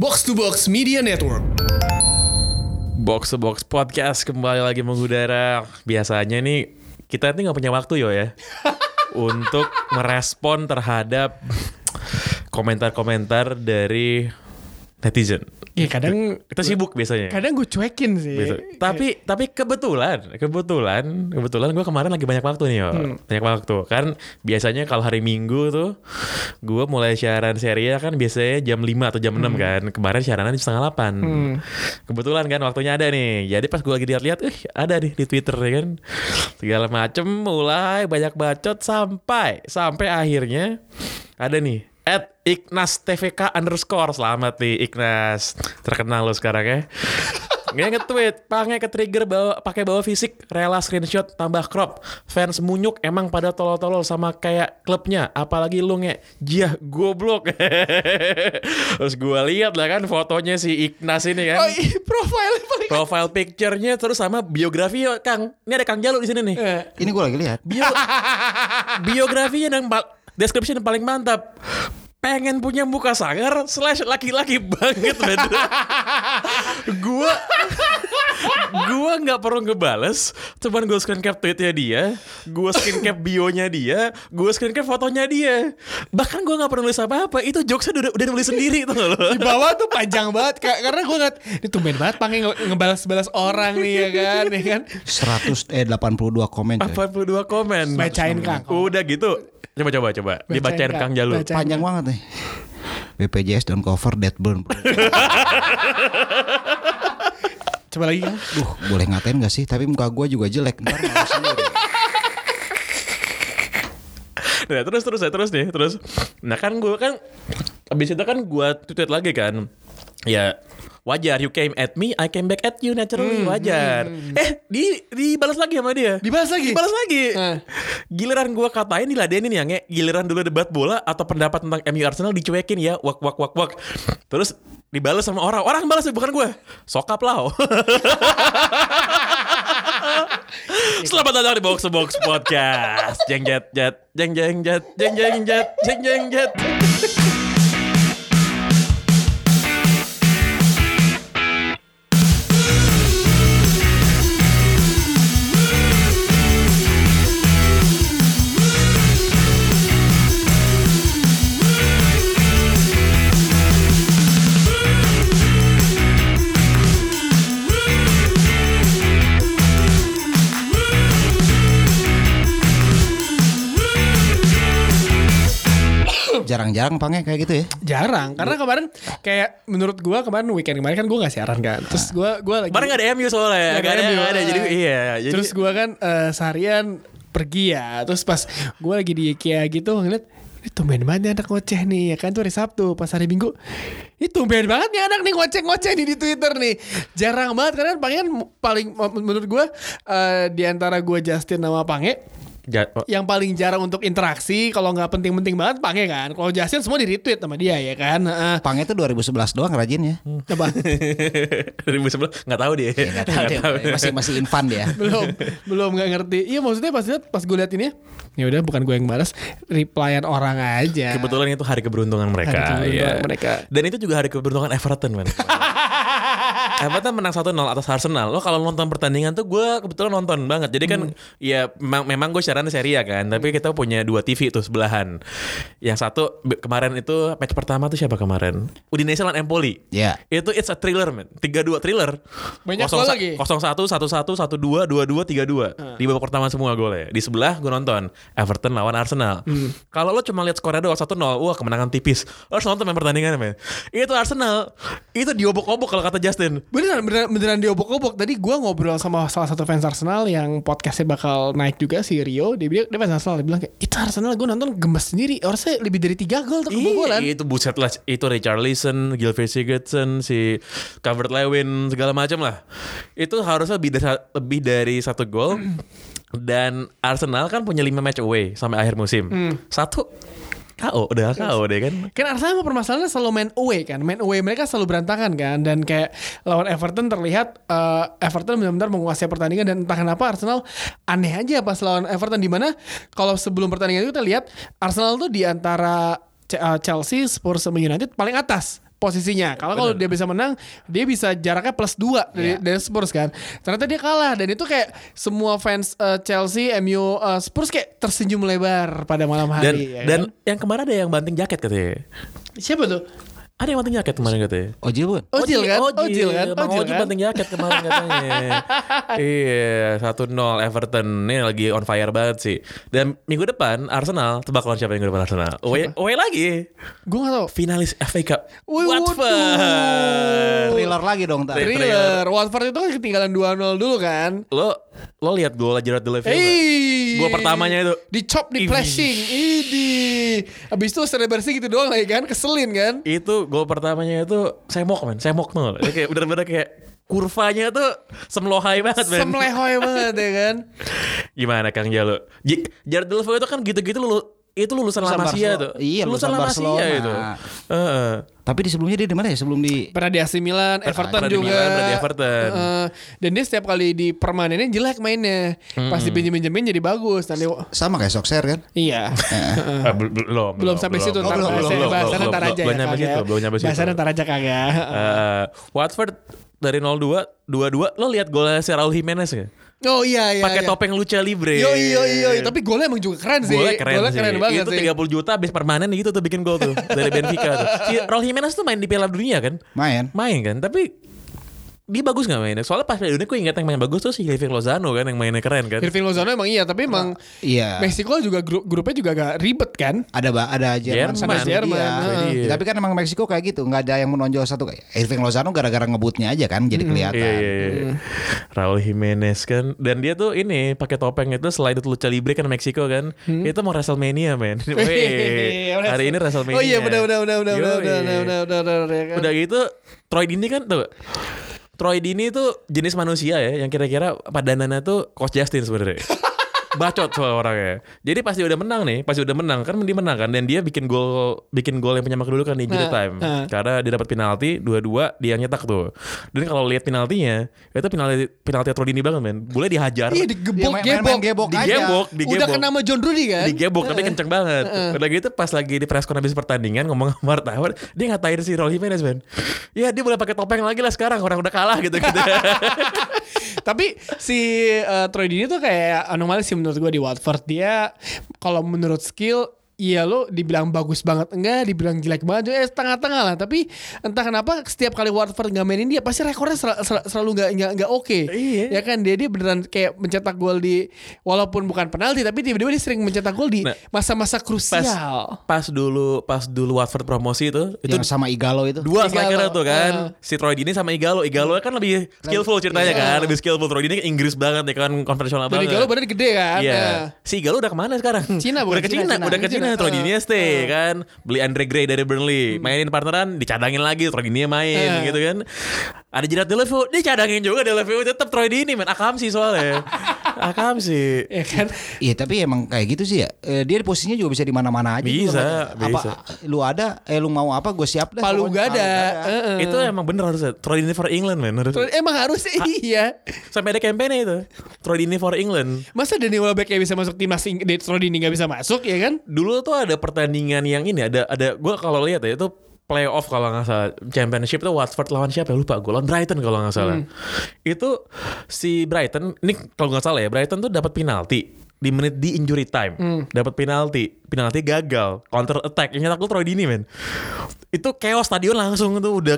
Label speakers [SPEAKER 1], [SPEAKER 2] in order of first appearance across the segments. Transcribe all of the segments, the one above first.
[SPEAKER 1] Box to Box Media Network.
[SPEAKER 2] Box to Box Podcast kembali lagi mengudara. Biasanya nih kita nih nggak punya waktu ya untuk merespon terhadap komentar-komentar dari netizen.
[SPEAKER 1] Ya kadang
[SPEAKER 2] Kita sibuk biasanya.
[SPEAKER 1] kadang gue cuekin sih.
[SPEAKER 2] Tapi kebetulan gue kemarin lagi banyak waktu nih banyak waktu kan. Biasanya kalau hari Minggu tuh gue mulai siaran serial kan biasanya jam 5 atau jam 6 kan. Kemarin siarannya jam 7:30. Kebetulan kan waktunya ada nih. Jadi pas gue lagi lihat-lihat ada nih di Twitter ya kan. Segala macem mulai banyak bacot sampai akhirnya ada nih @IgnasTVK_. Selamat nih Ignas, terkenal lo sekarang ya. Nggak nge-tweet, Pange ke-trigger pakai bawa fisik, rela screenshot tambah crop. Fans Munyuk emang pada tolol-tolol sama kayak klubnya, apalagi lu jiah goblok. Terus gue lihat lah kan fotonya si Ignas ini kan.
[SPEAKER 1] Oh iya,
[SPEAKER 2] Profile picture-nya terus sama biografi Kang. Ini ada Kang Jalu di sini nih.
[SPEAKER 3] Ini gue lagi lihat.
[SPEAKER 2] Biografinya yang description paling mantap. Pengen punya muka sangar / laki-laki banget bener. Gua nggak perlu ngebales, cuman gue screen cap tweetnya dia, gue screen cap bionya dia, gue screen cap fotonya dia. Bahkan gue nggak perlu nulis apa-apa, itu jokesnya udah nulis sendiri tuh loh.
[SPEAKER 1] Di bawah tuh panjang banget karena gue ngeliat ini tumben banget Pange ngebalas orang nih ya kan.
[SPEAKER 3] 82 komen.
[SPEAKER 2] 82 komen.
[SPEAKER 1] Bacain Kang.
[SPEAKER 2] Udah gitu. Coba. Dibacain Kang Jalu.
[SPEAKER 3] Panjang banget nih. BPJS don't cover death burn.
[SPEAKER 1] Coba lagi kan.
[SPEAKER 3] Boleh ngatain gak sih? Tapi muka gue juga jelek. Ntar malu sendiri.
[SPEAKER 2] Nah terus nih. Nah kan gue kan abis itu kan gue tweet lagi kan. Ya wajar, you came at me, I came back at you, naturally wajar. Dibalas lagi sama dia.
[SPEAKER 1] Dibalas lagi.
[SPEAKER 2] Giliran gue katain diladenin ya, giliran dulu debat bola atau pendapat tentang MU Arsenal dicuekin ya, wak. Terus dibalas sama orang balas bukan gue. Sokap lah. Selamat datang di Box to Box Podcast. Jeng jet.
[SPEAKER 3] Jarang-jarang Pange kayak gitu ya.
[SPEAKER 1] Jarang, karena kemarin kayak menurut gue weekend kemarin kan gue gak siaran kan. Terus gue lagi
[SPEAKER 2] Kemarin gak ada MU soalnya. Gak ada. Jadi iya.
[SPEAKER 1] Terus gue kan seharian pergi ya. Terus pas gue lagi di IKEA gitu ngeliat ini tumben banget nih anak ngoceh nih ya kan. Itu hari Sabtu. Pas hari Minggu ini tumben banget nih anak nih ngoceh nih di Twitter nih. Jarang banget karena Pange kan paling menurut gue di antara gue Justin sama Pange yang paling jarang untuk interaksi. Kalau nggak penting-penting banget Pange kan. Kalau Justin semua di retweet sama dia ya kan.
[SPEAKER 3] Pange itu 2011 doang rajin ya.
[SPEAKER 1] Coba
[SPEAKER 2] 2011 nggak tahu dia.
[SPEAKER 3] Nggak tahu. Masih infan dia.
[SPEAKER 1] belum nggak ngerti. Iya maksudnya pas gue liat ini ya udah bukan gue yang balas, replyan orang aja.
[SPEAKER 2] Kebetulan itu hari keberuntungan mereka. Dan itu juga hari keberuntungan Everton man. Everton menang 1-0 atas Arsenal. Lo kalau nonton pertandingan tuh gue kebetulan nonton banget. Jadi kan ya memang gue siaran seri ya kan. Tapi kita punya 2 TV tuh sebelahan. Yang satu kemarin itu match pertama tuh siapa kemarin? Udinese lawan Empoli.
[SPEAKER 3] Iya.
[SPEAKER 2] Itu it's a thriller man. 3-2 thriller.
[SPEAKER 1] Banyak gol lagi.
[SPEAKER 2] 0-1, 1-1, 1-2, 2-2, 3-2. Di babak pertama semua golnya. Di sebelah gue nonton Everton lawan Arsenal. Kalau lo cuma lihat skornya doang 1-0, wah kemenangan tipis. Lo harus nonton main pertandingan man. Itu Arsenal. Itu diobok-obok kalau kata Justin.
[SPEAKER 1] Beneran diobok-obok. Tadi gue ngobrol sama salah satu fans Arsenal yang podcastnya bakal naik juga, si Rio. Dia fans Arsenal. Dia bilang kayak itu Arsenal gue nonton gemes sendiri. Harusnya lebih dari 3 gol tuh kebobolan.
[SPEAKER 2] Itu buset lah. Itu Richarlison, Gylfi Sigurdsson, si Calvert-Lewin segala macam lah. Itu harusnya lebih dari 1 gol. Dan Arsenal kan punya 5 match away sampai akhir musim. 1 KO deh kan.
[SPEAKER 1] Kan Arsenal permasalahannya selalu main away kan. Main away mereka selalu berantakan kan. Dan kayak lawan Everton terlihat Everton benar-benar menguasai pertandingan. Dan entah kenapa Arsenal aneh aja pas lawan Everton. Dimana kalau sebelum pertandingan itu kita lihat Arsenal tuh di antara Chelsea, Spurs sama United paling atas. posisinya. Kalau dia bisa menang, dia bisa jaraknya +2 dari Spurs kan. Ternyata dia kalah dan itu kayak semua fans Chelsea, MU, Spurs kayak tersenyum lebar pada malam hari.
[SPEAKER 2] Dan yang kemarin ada yang banting jaket katanya.
[SPEAKER 1] Siapa tuh?
[SPEAKER 2] Ada yang banting jaket kemarin katanya.
[SPEAKER 3] Ojil bukan?
[SPEAKER 1] Ojil kan?
[SPEAKER 2] Bang Ojil banting jaket kemarin katanya. Iya, 1-0 Everton. Ini lagi on fire banget sih. Dan minggu depan Arsenal, tebak lawan siapa minggu depan Arsenal? Away lagi.
[SPEAKER 1] Gue gak tau.
[SPEAKER 2] Finalis FA Cup.
[SPEAKER 1] Wih,
[SPEAKER 2] Watford.
[SPEAKER 3] Thriller lagi dong tadi.
[SPEAKER 1] Thriller. Watford itu kan ketinggalan 2-0 dulu kan.
[SPEAKER 2] Lo lihat gol Gerard Deulofeu nggak? Gol pertamanya itu
[SPEAKER 1] dicop, di flashing. Abis itu selebrasi gitu doang lagi kan. Keselin kan.
[SPEAKER 2] Itu gol pertamanya itu semok tuh. Kayak bener-bener kayak kurvanya tuh semlohai banget men.
[SPEAKER 1] Semlehoy banget ya kan.
[SPEAKER 2] Gimana Kang Jalo? Gerard Deulofeu itu kan gitu-gitu itu lulusan La Masia tuh.
[SPEAKER 3] Iya,
[SPEAKER 2] lulusan La Masia itu.
[SPEAKER 3] Tapi di sebelumnya dia di mana ya? Sebelum di
[SPEAKER 1] Pernah di AC Milan, Everton
[SPEAKER 2] pernah di
[SPEAKER 1] juga.
[SPEAKER 2] Milan, pernah di Everton.
[SPEAKER 1] Dan dia setiap kali di permanennya jelek mainnya. Pas dipinjemin jadi bagus. Nanti
[SPEAKER 3] sama kayak Solskjaer kan?
[SPEAKER 1] iya. Belum sampai situ ntar bahasannya ntar aja
[SPEAKER 2] belum nyampe situ, belum nyampe situ.
[SPEAKER 1] Bahasannya ntar aja kagak.
[SPEAKER 2] Watford dari 0-2 2-2 lo lihat golnya si Raul Jimenez ya?
[SPEAKER 1] Oh iya.
[SPEAKER 2] Pakai topeng lucha libre.
[SPEAKER 1] Yo. Tapi golnya emang juga keren sih.
[SPEAKER 2] Golnya keren
[SPEAKER 1] banget
[SPEAKER 2] itu
[SPEAKER 1] sih.
[SPEAKER 2] 30 juta habis permanen gitu tuh bikin gol tuh dari Benfica tuh. Si Raul Jimenez tuh main di Piala Dunia kan? Main kan, tapi dia bagus gak mainnya? Soalnya pas Piala Dunia gue ingat yang main bagus tuh si Hirving Lozano kan, yang mainnya keren kan.
[SPEAKER 1] Hirving Lozano emang iya, tapi emang Meksiko juga grupnya juga agak ribet kan.
[SPEAKER 3] Ada Jerman sama
[SPEAKER 1] Jerman.
[SPEAKER 3] Tapi kan emang Meksiko kayak gitu, nggak ada yang menonjol satu kayak Hirving Lozano gara-gara ngebutnya aja kan, jadi kelihatan.
[SPEAKER 2] Iya. Raul Jimenez kan, dan dia tuh ini pakai topeng itu selain itu lucha libre kan Meksiko kan, itu mau WrestleMania men. Hari ini WrestleMania.
[SPEAKER 1] Oh iya benar.
[SPEAKER 2] Udah gitu Troy Deeney kan tuh. Troy Deeney tuh jenis manusia ya yang kira-kira padanannya tuh Coach Justin sebenarnya. Bacot soal orangnya. Jadi pasti udah menang kan dia menang kan, dan dia bikin gol yang penyemak dulu kan di injury time. Karena dia dapat penalti 2-2 dia nyetak tuh. Dan kalau lihat penaltinya, itu penalti Troy Deeney banget men. Boleh dihajar.
[SPEAKER 1] Iya digebok. Udah kena sama John Rudy kan.
[SPEAKER 2] Digebok tapi kenceng banget. Udah gitu pas lagi di press conference habis pertandingan ngomong sama wartawan, dia ngatain si Raul Jimenez men. Ya dia boleh pakai topeng lagi lah sekarang, orang udah kalah gitu.
[SPEAKER 1] Tapi si Troy Deeney tuh kayak anomali sih menurut gue di Watford. Dia kalau menurut skill, iya lo dibilang bagus banget enggak, dibilang jelek banget setengah-tengah lah. Tapi entah kenapa setiap kali Watford nggak mainin dia pasti rekornya selalu nggak oke.
[SPEAKER 2] Iya.
[SPEAKER 1] Ya kan dia beneran kayak mencetak gol di, walaupun bukan penalti, tapi tiba-tiba dia sering mencetak gol di masa-masa krusial.
[SPEAKER 2] Pas dulu Watford promosi itu
[SPEAKER 3] yang sama Igalo itu.
[SPEAKER 2] Dua striker tuh kan, si Troy Deeney sama Igalo kan lebih skillful ceritanya kan, lebih skillful. Troy Deeney kan Inggris banget ya kan, konvensional banget.
[SPEAKER 1] Igalo badan gede kan.
[SPEAKER 2] Iya. Si Igalo udah kemana sekarang? Udah ke Cina. Troy Deeney stay kan, beli Andre Gray dari Burnley, mainin partneran, dicadangin lagi, Troy Deeney main gitu kan. Ada Gerard Deulofeu, dicadangin juga Deulofeu, tetap Troy Deeney main Akamsi soalnya. Akamsi.
[SPEAKER 1] Ya kan?
[SPEAKER 3] Iya tapi emang kayak gitu sih ya. Dia posisinya juga bisa di mana-mana aja.
[SPEAKER 2] Bisa.
[SPEAKER 3] Lu mau apa gue siap dah.
[SPEAKER 1] Palu gak ada.
[SPEAKER 2] Itu emang bener harusnya Troy Deeney for England man.
[SPEAKER 1] Emang harus iya.
[SPEAKER 2] Sampai ada campaign itu Troy Deeney for England.
[SPEAKER 1] Masa Danny Welbeck yang bisa masuk timnas, Troy Deeney gak bisa masuk ya kan?
[SPEAKER 2] Dulu tuh ada pertandingan yang ini, ada gue kalau lihat ya itu playoff kalau nggak salah, championship itu Watford lawan siapa ya lupa, gue lawan Brighton kalau nggak salah. Itu si Brighton ini kalau nggak salah ya, Brighton tuh dapat penalti di menit di injury time, dapat penalti gagal, counter attack yang nyetak tuh Troy Deeney men. Itu chaos stadion langsung tuh, udah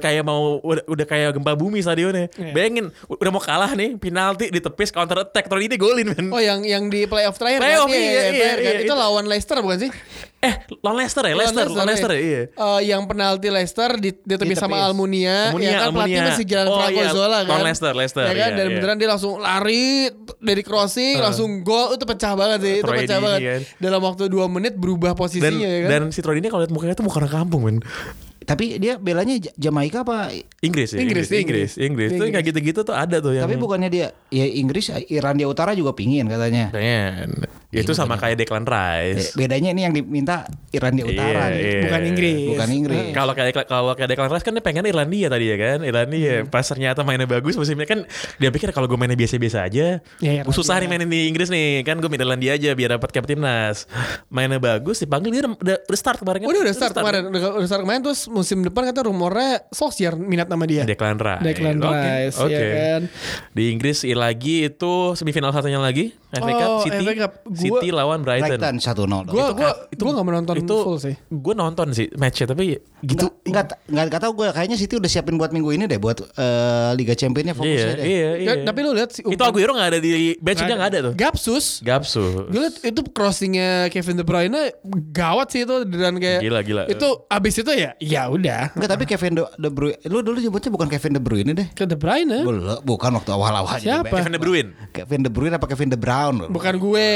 [SPEAKER 2] kayak gempa bumi stadionnya. Bayangin udah mau kalah nih, penalti ditepis, counter attack, Troy Deeney golin men.
[SPEAKER 1] Oh yang di playoff terakhir
[SPEAKER 2] kan?
[SPEAKER 1] Iya. Itu lawan Leicester bukan sih?
[SPEAKER 2] Lawan Leicester ya, iya.
[SPEAKER 1] Yang penalti Leicester ditepis sama Almunia, ya kan pelatih masih jalan Franco Zola kan.
[SPEAKER 2] Lawan Leicester.
[SPEAKER 1] Ya kan, dan beneran dia langsung lari dari crossing, langsung gol, itu pecah banget sih. Itu pecah banget. Kan. Dalam waktu 2 menit berubah posisinya ya kan.
[SPEAKER 2] Dan si Troy Deeney kalau lihat mukanya tuh muka orang kampung men.
[SPEAKER 3] Tapi dia belanya Jamaika apa
[SPEAKER 2] Inggris ya? Inggris. Tuh kayak gitu-gitu tuh ada tuh yang.
[SPEAKER 3] Tapi bukannya dia ya Inggris, Irlandia Utara juga pingin katanya.
[SPEAKER 2] Pengen. Itu sama kayak Declan Rice.
[SPEAKER 3] Bedanya ini yang diminta Irlandia Utara nih.
[SPEAKER 2] Iya.
[SPEAKER 1] Bukan Inggris.
[SPEAKER 3] Bukan Inggris.
[SPEAKER 2] Kalau kayak Declan Rice kan dia pengen Irlandia tadi ya kan. Irlandia pas ternyata mainnya bagus musimnya kan dia pikir kalau gue mainnya biasa-biasa aja,
[SPEAKER 1] Ya,
[SPEAKER 2] gue susah nih mainin di Inggris nih kan, gue minta Irlandia aja biar dapat cap timnas. Mainnya bagus dipanggil dia udah start kemarin kan.
[SPEAKER 1] Udah start kemarin. Udah start kemarin terus musim depan kata rumornya Solskjaer minat nama dia.
[SPEAKER 2] Declan Rice.
[SPEAKER 1] Declan Rice,
[SPEAKER 2] Oke.
[SPEAKER 1] ya kan.
[SPEAKER 2] Di Inggris lagi itu semifinal satunya lagi FA Cup
[SPEAKER 1] FA Cup.
[SPEAKER 2] City lawan Brighton.
[SPEAKER 3] Brighton 1-0.
[SPEAKER 1] Gue nggak menonton full sih.
[SPEAKER 2] Gue nonton sih matchnya tapi gitu.
[SPEAKER 3] Enggak tahu gue kayaknya City udah siapin buat minggu ini deh buat Liga Championnya fokusnya deh.
[SPEAKER 2] Iya.
[SPEAKER 1] Tapi lu lihat
[SPEAKER 2] Itu Aguero nggak ada di bench, dia nggak ada tuh.
[SPEAKER 1] Gapsus.
[SPEAKER 2] Gapsu.
[SPEAKER 1] Gue liat itu crossingnya Kevin De Bruyne gawat sih itu dan kayak
[SPEAKER 2] Gila.
[SPEAKER 1] Itu abis itu ya udah.
[SPEAKER 3] Enggak, tapi Kevin De Bruyne, lu dulu nyebutnya bukan Kevin De Bruyne deh.
[SPEAKER 1] Ke De Bruyne.
[SPEAKER 3] Bukan waktu awal-awal.
[SPEAKER 1] Siapa?
[SPEAKER 2] Kevin De Bruyne.
[SPEAKER 3] Kevin De Bruyne apa Kevin De Bruyne?
[SPEAKER 1] Bukan gue.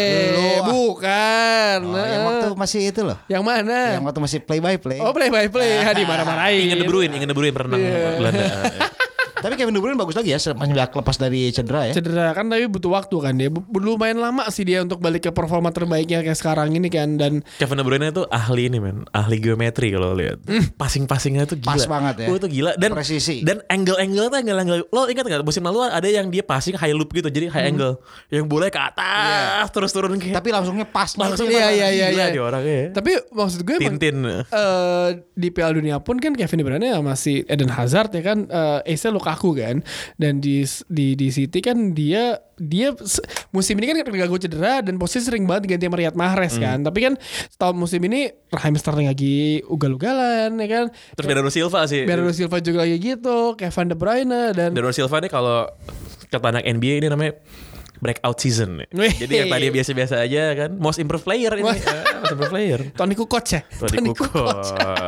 [SPEAKER 1] Bukan.
[SPEAKER 3] Yang waktu masih itu loh.
[SPEAKER 1] Yang mana?
[SPEAKER 3] Yang waktu masih play by play.
[SPEAKER 1] Oh play by play. Di mana-manain.
[SPEAKER 2] Ingin De Bruyne pernah Belanda.
[SPEAKER 3] Tapi Kevin De Bruyne bagus lagi ya semenjak lepas dari cedera ya.
[SPEAKER 1] Cedera kan tapi butuh waktu kan dia. Lumayan lama sih dia untuk balik ke performa terbaiknya kayak sekarang ini kan. Dan
[SPEAKER 2] Kevin De Bruyne itu ahli ini men, ahli geometri kalau lihat. Passing-passingnya tuh gila.
[SPEAKER 3] Pas banget ya.
[SPEAKER 2] Oh, itu gila dan
[SPEAKER 3] presisi.
[SPEAKER 2] Dan angle-angle tuh angle. Lo ingat enggak musim lalu ada yang dia passing high loop gitu, jadi high angle. Yang bola ke atas terus turun kayak.
[SPEAKER 3] Tapi langsungnya pas.
[SPEAKER 2] Langsung
[SPEAKER 1] Iya.
[SPEAKER 2] Gila dia orangnya.
[SPEAKER 1] Tapi maksud gue emang
[SPEAKER 2] Tintin.
[SPEAKER 1] di Piala Dunia pun kan Kevin De Bruyne masih Eden Hazard ya kan, Ace Lukaku kan, dan di City kan dia musim ini kan gak cedera dan posisi sering banget ganti sama Riyad Mahrez kan, tapi kan setahun musim ini Raheem Sterling lagi ugal-ugalan ya kan,
[SPEAKER 2] Terus Bernardo Silva sih.
[SPEAKER 1] Bernardo Silva juga lagi gitu, Kevin De Bruyne dan
[SPEAKER 2] Bernardo Silva nih kalau kata anak NBA ini namanya breakout season.
[SPEAKER 1] Wih.
[SPEAKER 2] Jadi yang tadi biasa-biasa aja kan, most improved player ini. Most improved player.
[SPEAKER 1] Toni Kukoc ya.
[SPEAKER 2] Toni Kukoc.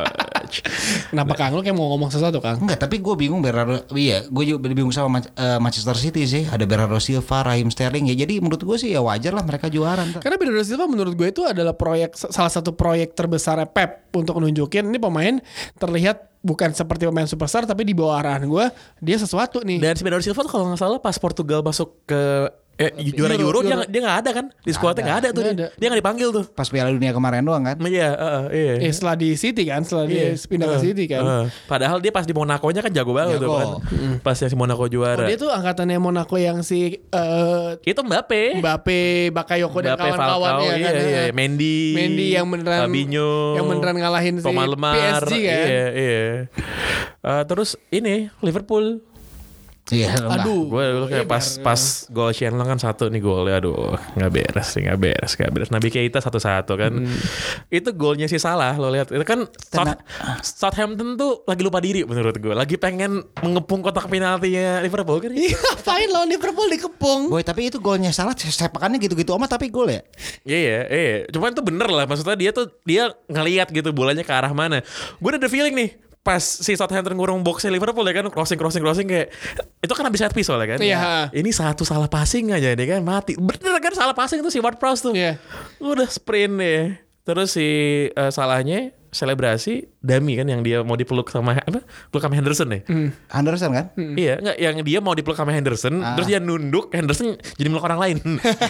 [SPEAKER 1] Kenapa Kang? Lu kayak mau ngomong sesuatu Kang?
[SPEAKER 3] Enggak, tapi gue bingung gue juga bingung sama Manchester City sih. Ada Bernardo Silva, Raheem Sterling ya. Jadi menurut gue sih ya wajar lah mereka juara.
[SPEAKER 1] Karena Bernardo Silva menurut gue itu adalah salah satu proyek terbesar Pep untuk nunjukin ini pemain terlihat bukan seperti pemain superstar tapi di bawah arahan gue dia sesuatu nih.
[SPEAKER 2] Dan si Bernardo Silva tuh kalau nggak salah pas Portugal masuk ke juara Euro. Dia nggak ada kan di skuadnya, nggak ada tuh
[SPEAKER 1] Nggak
[SPEAKER 2] dia.
[SPEAKER 1] ada.
[SPEAKER 2] Dia nggak dipanggil tuh.
[SPEAKER 3] Pas Piala Dunia kemarin doang kan.
[SPEAKER 2] Iya.
[SPEAKER 1] Setelah di City kan, setelah dia pindah ke City kan.
[SPEAKER 2] Padahal dia pas di Monaco-nya kan jago banget tuh kan. Pas yang si Monaco juara.
[SPEAKER 1] Dia tuh angkatannya Monaco yang si
[SPEAKER 2] Itu Mbappe,
[SPEAKER 1] Bakayoko dan
[SPEAKER 2] Mbappe,
[SPEAKER 1] kawan-kawannya
[SPEAKER 2] Falcao,
[SPEAKER 1] kan.
[SPEAKER 2] iya. Mendy
[SPEAKER 1] yang beneran
[SPEAKER 2] Fabinho,
[SPEAKER 1] yang beneran ngalahin si
[SPEAKER 2] Thomas Lemar,
[SPEAKER 1] PSG kan.
[SPEAKER 2] Iya. Terus ini Liverpool.
[SPEAKER 3] Iya.
[SPEAKER 1] Aduh.
[SPEAKER 2] Gue dulu kayak pas gol Shenlong kan satu nih golnya, aduh nggak beres. Naby Keita 1-1 kan. Itu golnya sih salah lo lihat. Itu kan Southampton tuh lagi lupa diri menurut gue. Lagi pengen mengepung kotak penaltinya Liverpool kan.
[SPEAKER 1] Iya, ngapain lawan Liverpool dikepung?
[SPEAKER 3] Boy, tapi itu golnya salah, sepakannya gitu-gitu amat tapi gol ya.
[SPEAKER 2] Iya. Cuman tuh bener lah, maksudnya dia ngelihat gitu bolanya ke arah mana. Gue udah ada feeling nih. Pas si Southampton ngurung boxnya Liverpool ya kan, crossing kayak itu kan habis set piece soalnya kan.
[SPEAKER 1] Iya.
[SPEAKER 2] Ini satu salah passing aja deh kan mati. Bener kan salah passing itu si Ward-Prowse tuh.
[SPEAKER 1] Iya.
[SPEAKER 2] Udah sprint deh. Terus si salahnya selebrasi Dami kan yang dia mau dipeluk sama Henderson ya.
[SPEAKER 3] Henderson kan?
[SPEAKER 2] Iya, enggak yang dia mau dipeluk sama Henderson, terus dia nunduk, Henderson jadi meluk orang lain.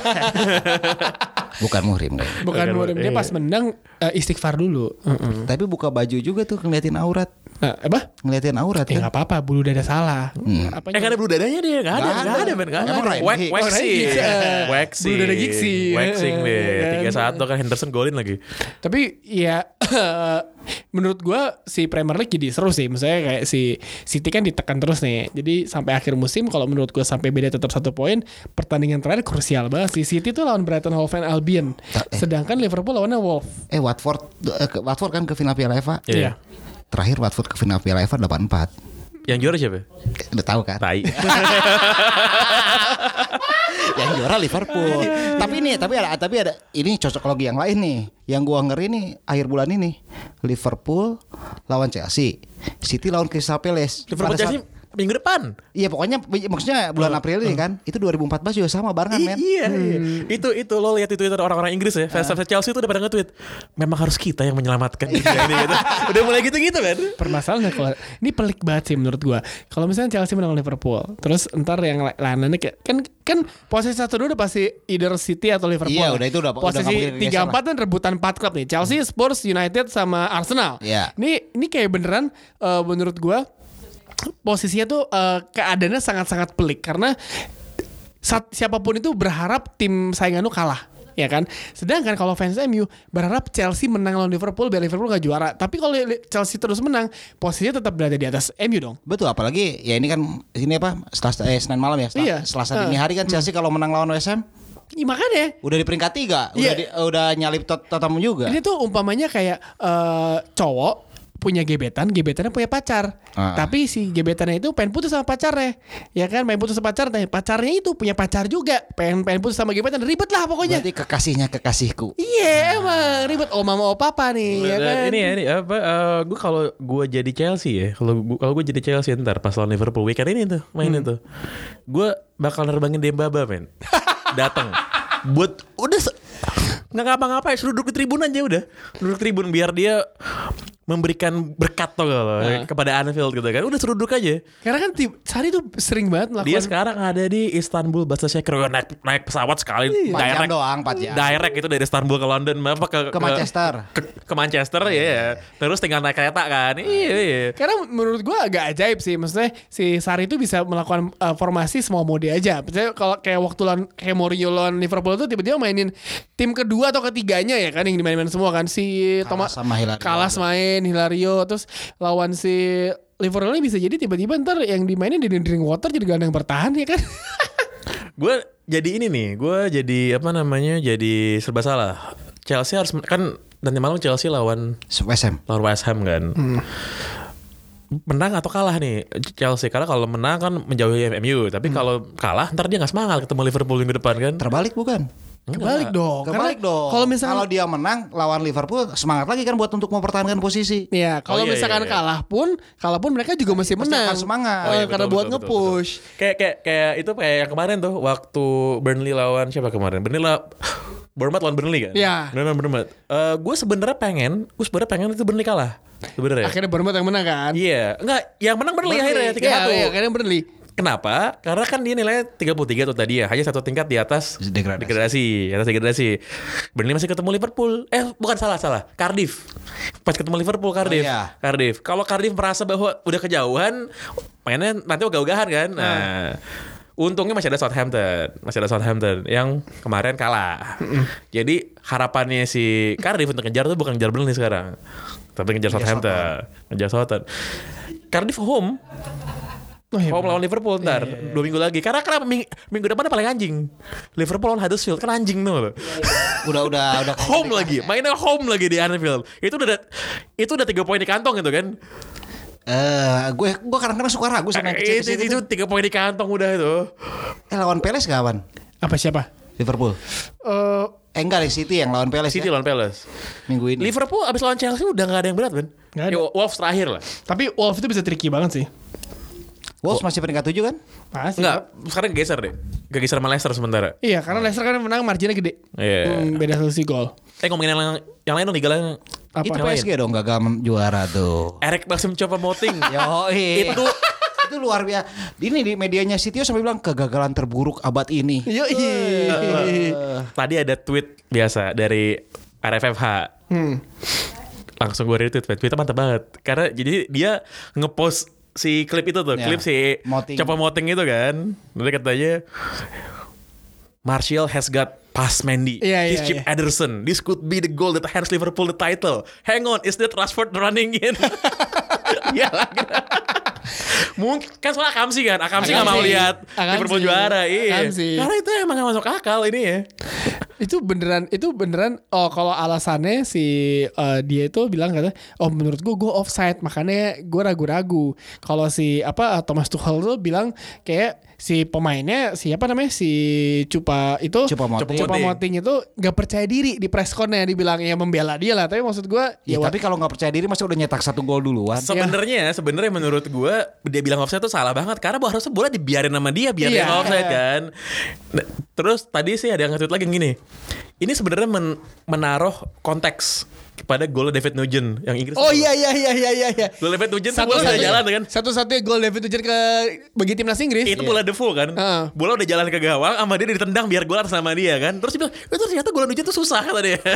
[SPEAKER 3] Bukan muhrim kan?
[SPEAKER 1] Bukan murim. Dia pas menang istighfar dulu.
[SPEAKER 3] Tapi buka baju juga tuh ngeliatin aurat.
[SPEAKER 1] Apa?
[SPEAKER 3] Ngeliatin aurat
[SPEAKER 1] Ya
[SPEAKER 3] kan?
[SPEAKER 1] nggak apa-apa, bulu dada salah. Apanya?
[SPEAKER 2] Gak ada bulu dadanya dia, gak ada men.
[SPEAKER 3] Emang Ryan Giggs?
[SPEAKER 2] Waxing.
[SPEAKER 1] Bulu dada Giggsy.
[SPEAKER 2] Waxing deh. 3-1 kan Henderson golin lagi.
[SPEAKER 1] Tapi ya menurut gue si Premier League jadi seru sih. Misalnya kayak si City kan ditekan terus nih. Jadi sampai akhir musim kalau menurut gue sampai beda tetap 1 poin. Pertandingan terakhir krusial banget. Si City tuh lawan Brighton Hove Albion. Sedangkan Liverpool lawannya Wolves.
[SPEAKER 3] Watford kan ke final Piala FA.
[SPEAKER 2] Iya.
[SPEAKER 3] Terakhir Watford ke final Piala FA 8-4.
[SPEAKER 2] Yang juara siapa?
[SPEAKER 3] Udah tahu kan?
[SPEAKER 2] Tai.
[SPEAKER 3] Yang juara Liverpool. tapi ada ini cocokologi yang lain nih. Yang gua ngeri nih akhir bulan ini. Liverpool lawan Chelsea, City lawan Crystal Palace.
[SPEAKER 2] Liverpool Chelsea minggu depan.
[SPEAKER 3] Iya pokoknya maksudnya bulan April ini kan. Itu 2014 juga sama barengan men.
[SPEAKER 2] Iya. Itu lo lihat di Twitter orang-orang Inggris ya, fans Chelsea itu udah pada nge-tweet, memang harus kita yang menyelamatkan dunia ini gitu. Udah mulai gitu-gitu kan.
[SPEAKER 1] Permasalahannya kalau ini pelik banget sih menurut gua. Kalau misalnya Chelsea menang Liverpool, terus ntar yang lainnya kayak kan posisi 1-2 udah pasti either City atau Liverpool.
[SPEAKER 3] Iya, udah itu udah
[SPEAKER 1] posisi 3-4 kan rebutan 4 klub nih. Chelsea, Spurs, United sama Arsenal.
[SPEAKER 3] Iya.
[SPEAKER 1] Ini kayak beneran menurut gua posisinya tuh keadaannya sangat-sangat pelik karena siapapun itu berharap tim saingan lu kalah, ya kan? Sedangkan kalau fans MU berharap Chelsea menang lawan Liverpool biar Liverpool gak juara. Tapi kalau Chelsea terus menang, posisinya tetap berada di atas MU dong.
[SPEAKER 3] Betul, apalagi ya ini kan ini apa? Senin malam ya. Selasa dini hari kan Chelsea kalau menang lawan West Ham.
[SPEAKER 1] Ya, makanya
[SPEAKER 3] udah di peringkat 3, udah nyalip Tottenham juga.
[SPEAKER 1] Ini tuh umpamanya kayak cowok punya gebetannya punya pacar. Tapi si gebetannya itu pengen putus sama pacarnya. Ya kan, pengen putus sama pacarnya itu punya pacar juga. Pengen putus sama gebetan, ribet lah pokoknya.
[SPEAKER 3] Berarti kekasihnya kekasihku.
[SPEAKER 1] Iya, emang ribet mama papa nih, ya kan.
[SPEAKER 2] Ini apa gue kalau gue jadi Chelsea ya, kalau gue jadi Chelsea ntar pas lawan Liverpool weekend ini tuh mainin tuh. Gue bakal nerbangin Dembaba men. Datang buat nggak ngapa-ngapain, suruh duduk di tribun aja udah. Duduk tribun biar dia memberikan berkat tuh kalau kepada Anfield gitu kan. Udah suruh duduk aja.
[SPEAKER 1] Karena kan Sari tuh sering banget melakukan.
[SPEAKER 2] Dia sekarang ada di Istanbul, Başakşehir, naik pesawat sekali
[SPEAKER 3] 4 jam doang, 4 jam.
[SPEAKER 2] Direct itu dari Istanbul ke London, apa
[SPEAKER 3] ke Manchester.
[SPEAKER 2] Ke Manchester ya. Terus tinggal naik kereta kan. Iya.
[SPEAKER 1] Karena menurut gua agak ajaib sih. Maksudnya si Sari itu bisa melakukan formasi semua mode aja. Misalnya kalau kayak waktu kayak Mourinho lawan Liverpool tuh tiba-tiba mainin tim kedua atau ketiganya ya kan yang dimainin semua kan. Si Thomas Kalas main Hilario, terus lawan si Liverpool ini bisa jadi tiba-tiba ntar yang dimainin di Drinkwater jadi gelandang bertahan ya kan.
[SPEAKER 2] Gue jadi ini nih, gue jadi apa namanya, jadi serba salah. Chelsea harus kan nanti malam Chelsea lawan
[SPEAKER 3] West Ham
[SPEAKER 2] kan. Menang atau kalah nih Chelsea, karena kalau menang kan menjauhi MU, tapi kalau kalah ntar dia nggak semangat ketemu Liverpool minggu depan kan.
[SPEAKER 3] Terbalik bukan?
[SPEAKER 1] Kebalik dong.
[SPEAKER 3] Kalau misalkan kalau dia menang lawan Liverpool semangat lagi kan buat untuk mempertahankan posisi.
[SPEAKER 1] Iya, kalau misalkan kalah pun mereka juga masih menang.
[SPEAKER 3] Semangat.
[SPEAKER 1] Karena buat nge-push.
[SPEAKER 2] Kayak itu kayak yang kemarin tuh waktu Burnley lawan siapa kemarin? Bournemouth lawan Burnley kan?
[SPEAKER 1] Iya.
[SPEAKER 2] Bournemouth. Gue sebenarnya pengen itu Burnley kalah. Sebenarnya.
[SPEAKER 1] Akhirnya Bournemouth yang menang kan?
[SPEAKER 2] Iya. Enggak, yang menang Burnley akhirnya 3-1.
[SPEAKER 1] Iya, akhirnya Burnley.
[SPEAKER 2] Kenapa? Karena kan dia nilainya 33 tuh tadi ya, hanya 1 tingkat di atas degradasi. Burnley masih ketemu Liverpool. Bukan salah. Cardiff. Pas ketemu Liverpool Cardiff. Cardiff. Kalau Cardiff merasa bahwa udah kejauhan, mainnya nanti ogah-ogahan kan. Nah, untungnya masih ada Southampton yang kemarin kalah. Jadi harapannya si Cardiff untuk ngejar tuh bukan ngejar Burnley sekarang, tapi ngejar Southampton. Cardiff home lawan Liverpool ntar 2 minggu lagi. Karena kenapa minggu depan paling anjing. Liverpool lawan Huddersfield kan anjing tuh.
[SPEAKER 3] Udah
[SPEAKER 2] home lagi. Mainnya home lagi di Anfield. Itu udah 3 poin di kantong gitu kan.
[SPEAKER 3] Gue kadang-kadang suka ragu sama
[SPEAKER 2] itu 3 poin di kantong udah itu.
[SPEAKER 3] Lawan Palace kawan?
[SPEAKER 1] Apa siapa?
[SPEAKER 3] Liverpool. Enggak deh, City yang lawan Palace.
[SPEAKER 2] Lawan Palace
[SPEAKER 3] minggu ini.
[SPEAKER 2] Liverpool abis lawan Chelsea udah gak ada yang berat kan. Wolves terakhir lah.
[SPEAKER 1] Tapi Wolves itu bisa tricky banget sih.
[SPEAKER 3] Wolves masih peringkat 7 kan?
[SPEAKER 1] Masih.
[SPEAKER 2] Enggak, sekarang geser deh. Geser sama Leicester sementara.
[SPEAKER 1] Iya, karena Leicester kan menang marginnya gede.
[SPEAKER 2] Iya.
[SPEAKER 1] Beda selisih gol.
[SPEAKER 2] Ngomongin yang lain dong, Liga
[SPEAKER 3] itu PSG dong gagal juara tuh.
[SPEAKER 2] Eric Maxim Choupo-Moting.
[SPEAKER 3] Itu luar biasa. Ini di medianya Sitio sampai bilang kegagalan terburuk abad ini.
[SPEAKER 2] Tadi ada tweet biasa dari RFFH. Langsung gue retweet. Tweetnya mantap banget. Karena jadi dia ngepost si klip itu tuh, klip si Choupo-Moting itu kan. Nanti katanya Martial has got past Mendy. He's Chip Ederson. This could be the goal that hands Liverpool the title. Hang on, is that Rashford running in? Iyalah. Mungkin kan soal Akamsi kan. Akamsi gak mau lihat Liverpool juara. Iya. Karena itu emang gak masuk akal ini ya.
[SPEAKER 1] Itu beneran kalau alasannya si dia itu bilang kata menurut gue offside makanya gue ragu-ragu. Kalau si Thomas Tuchel tuh bilang kayak si pemainnya siapa namanya si Choupo-Moting itu gak percaya diri di press connya, dibilang ya membela dia lah, tapi maksud gue
[SPEAKER 3] tapi kalau nggak percaya diri masa udah nyetak 1 gol duluan.
[SPEAKER 2] Sebenarnya menurut gue dia bilang offside tuh salah banget karena harusnya bola dibiarin sama dia biar dia offside kan. Nah, terus tadi sih ada yang nge-tweet lagi gini. Ini sebenarnya menaruh konteks kepada gol David Nugent yang Inggris.
[SPEAKER 1] Oh iya.
[SPEAKER 2] Gol David Nugent tuh bola udah jalan kan.
[SPEAKER 1] Satu-satunya gol David Nugent bagi timnas Inggris.
[SPEAKER 2] Itu bola default kan. Bola udah jalan ke gawang sama dia ditendang biar gol atas sama dia kan. Terus dia bilang, itu ternyata gol Nugent tuh susah kata dia.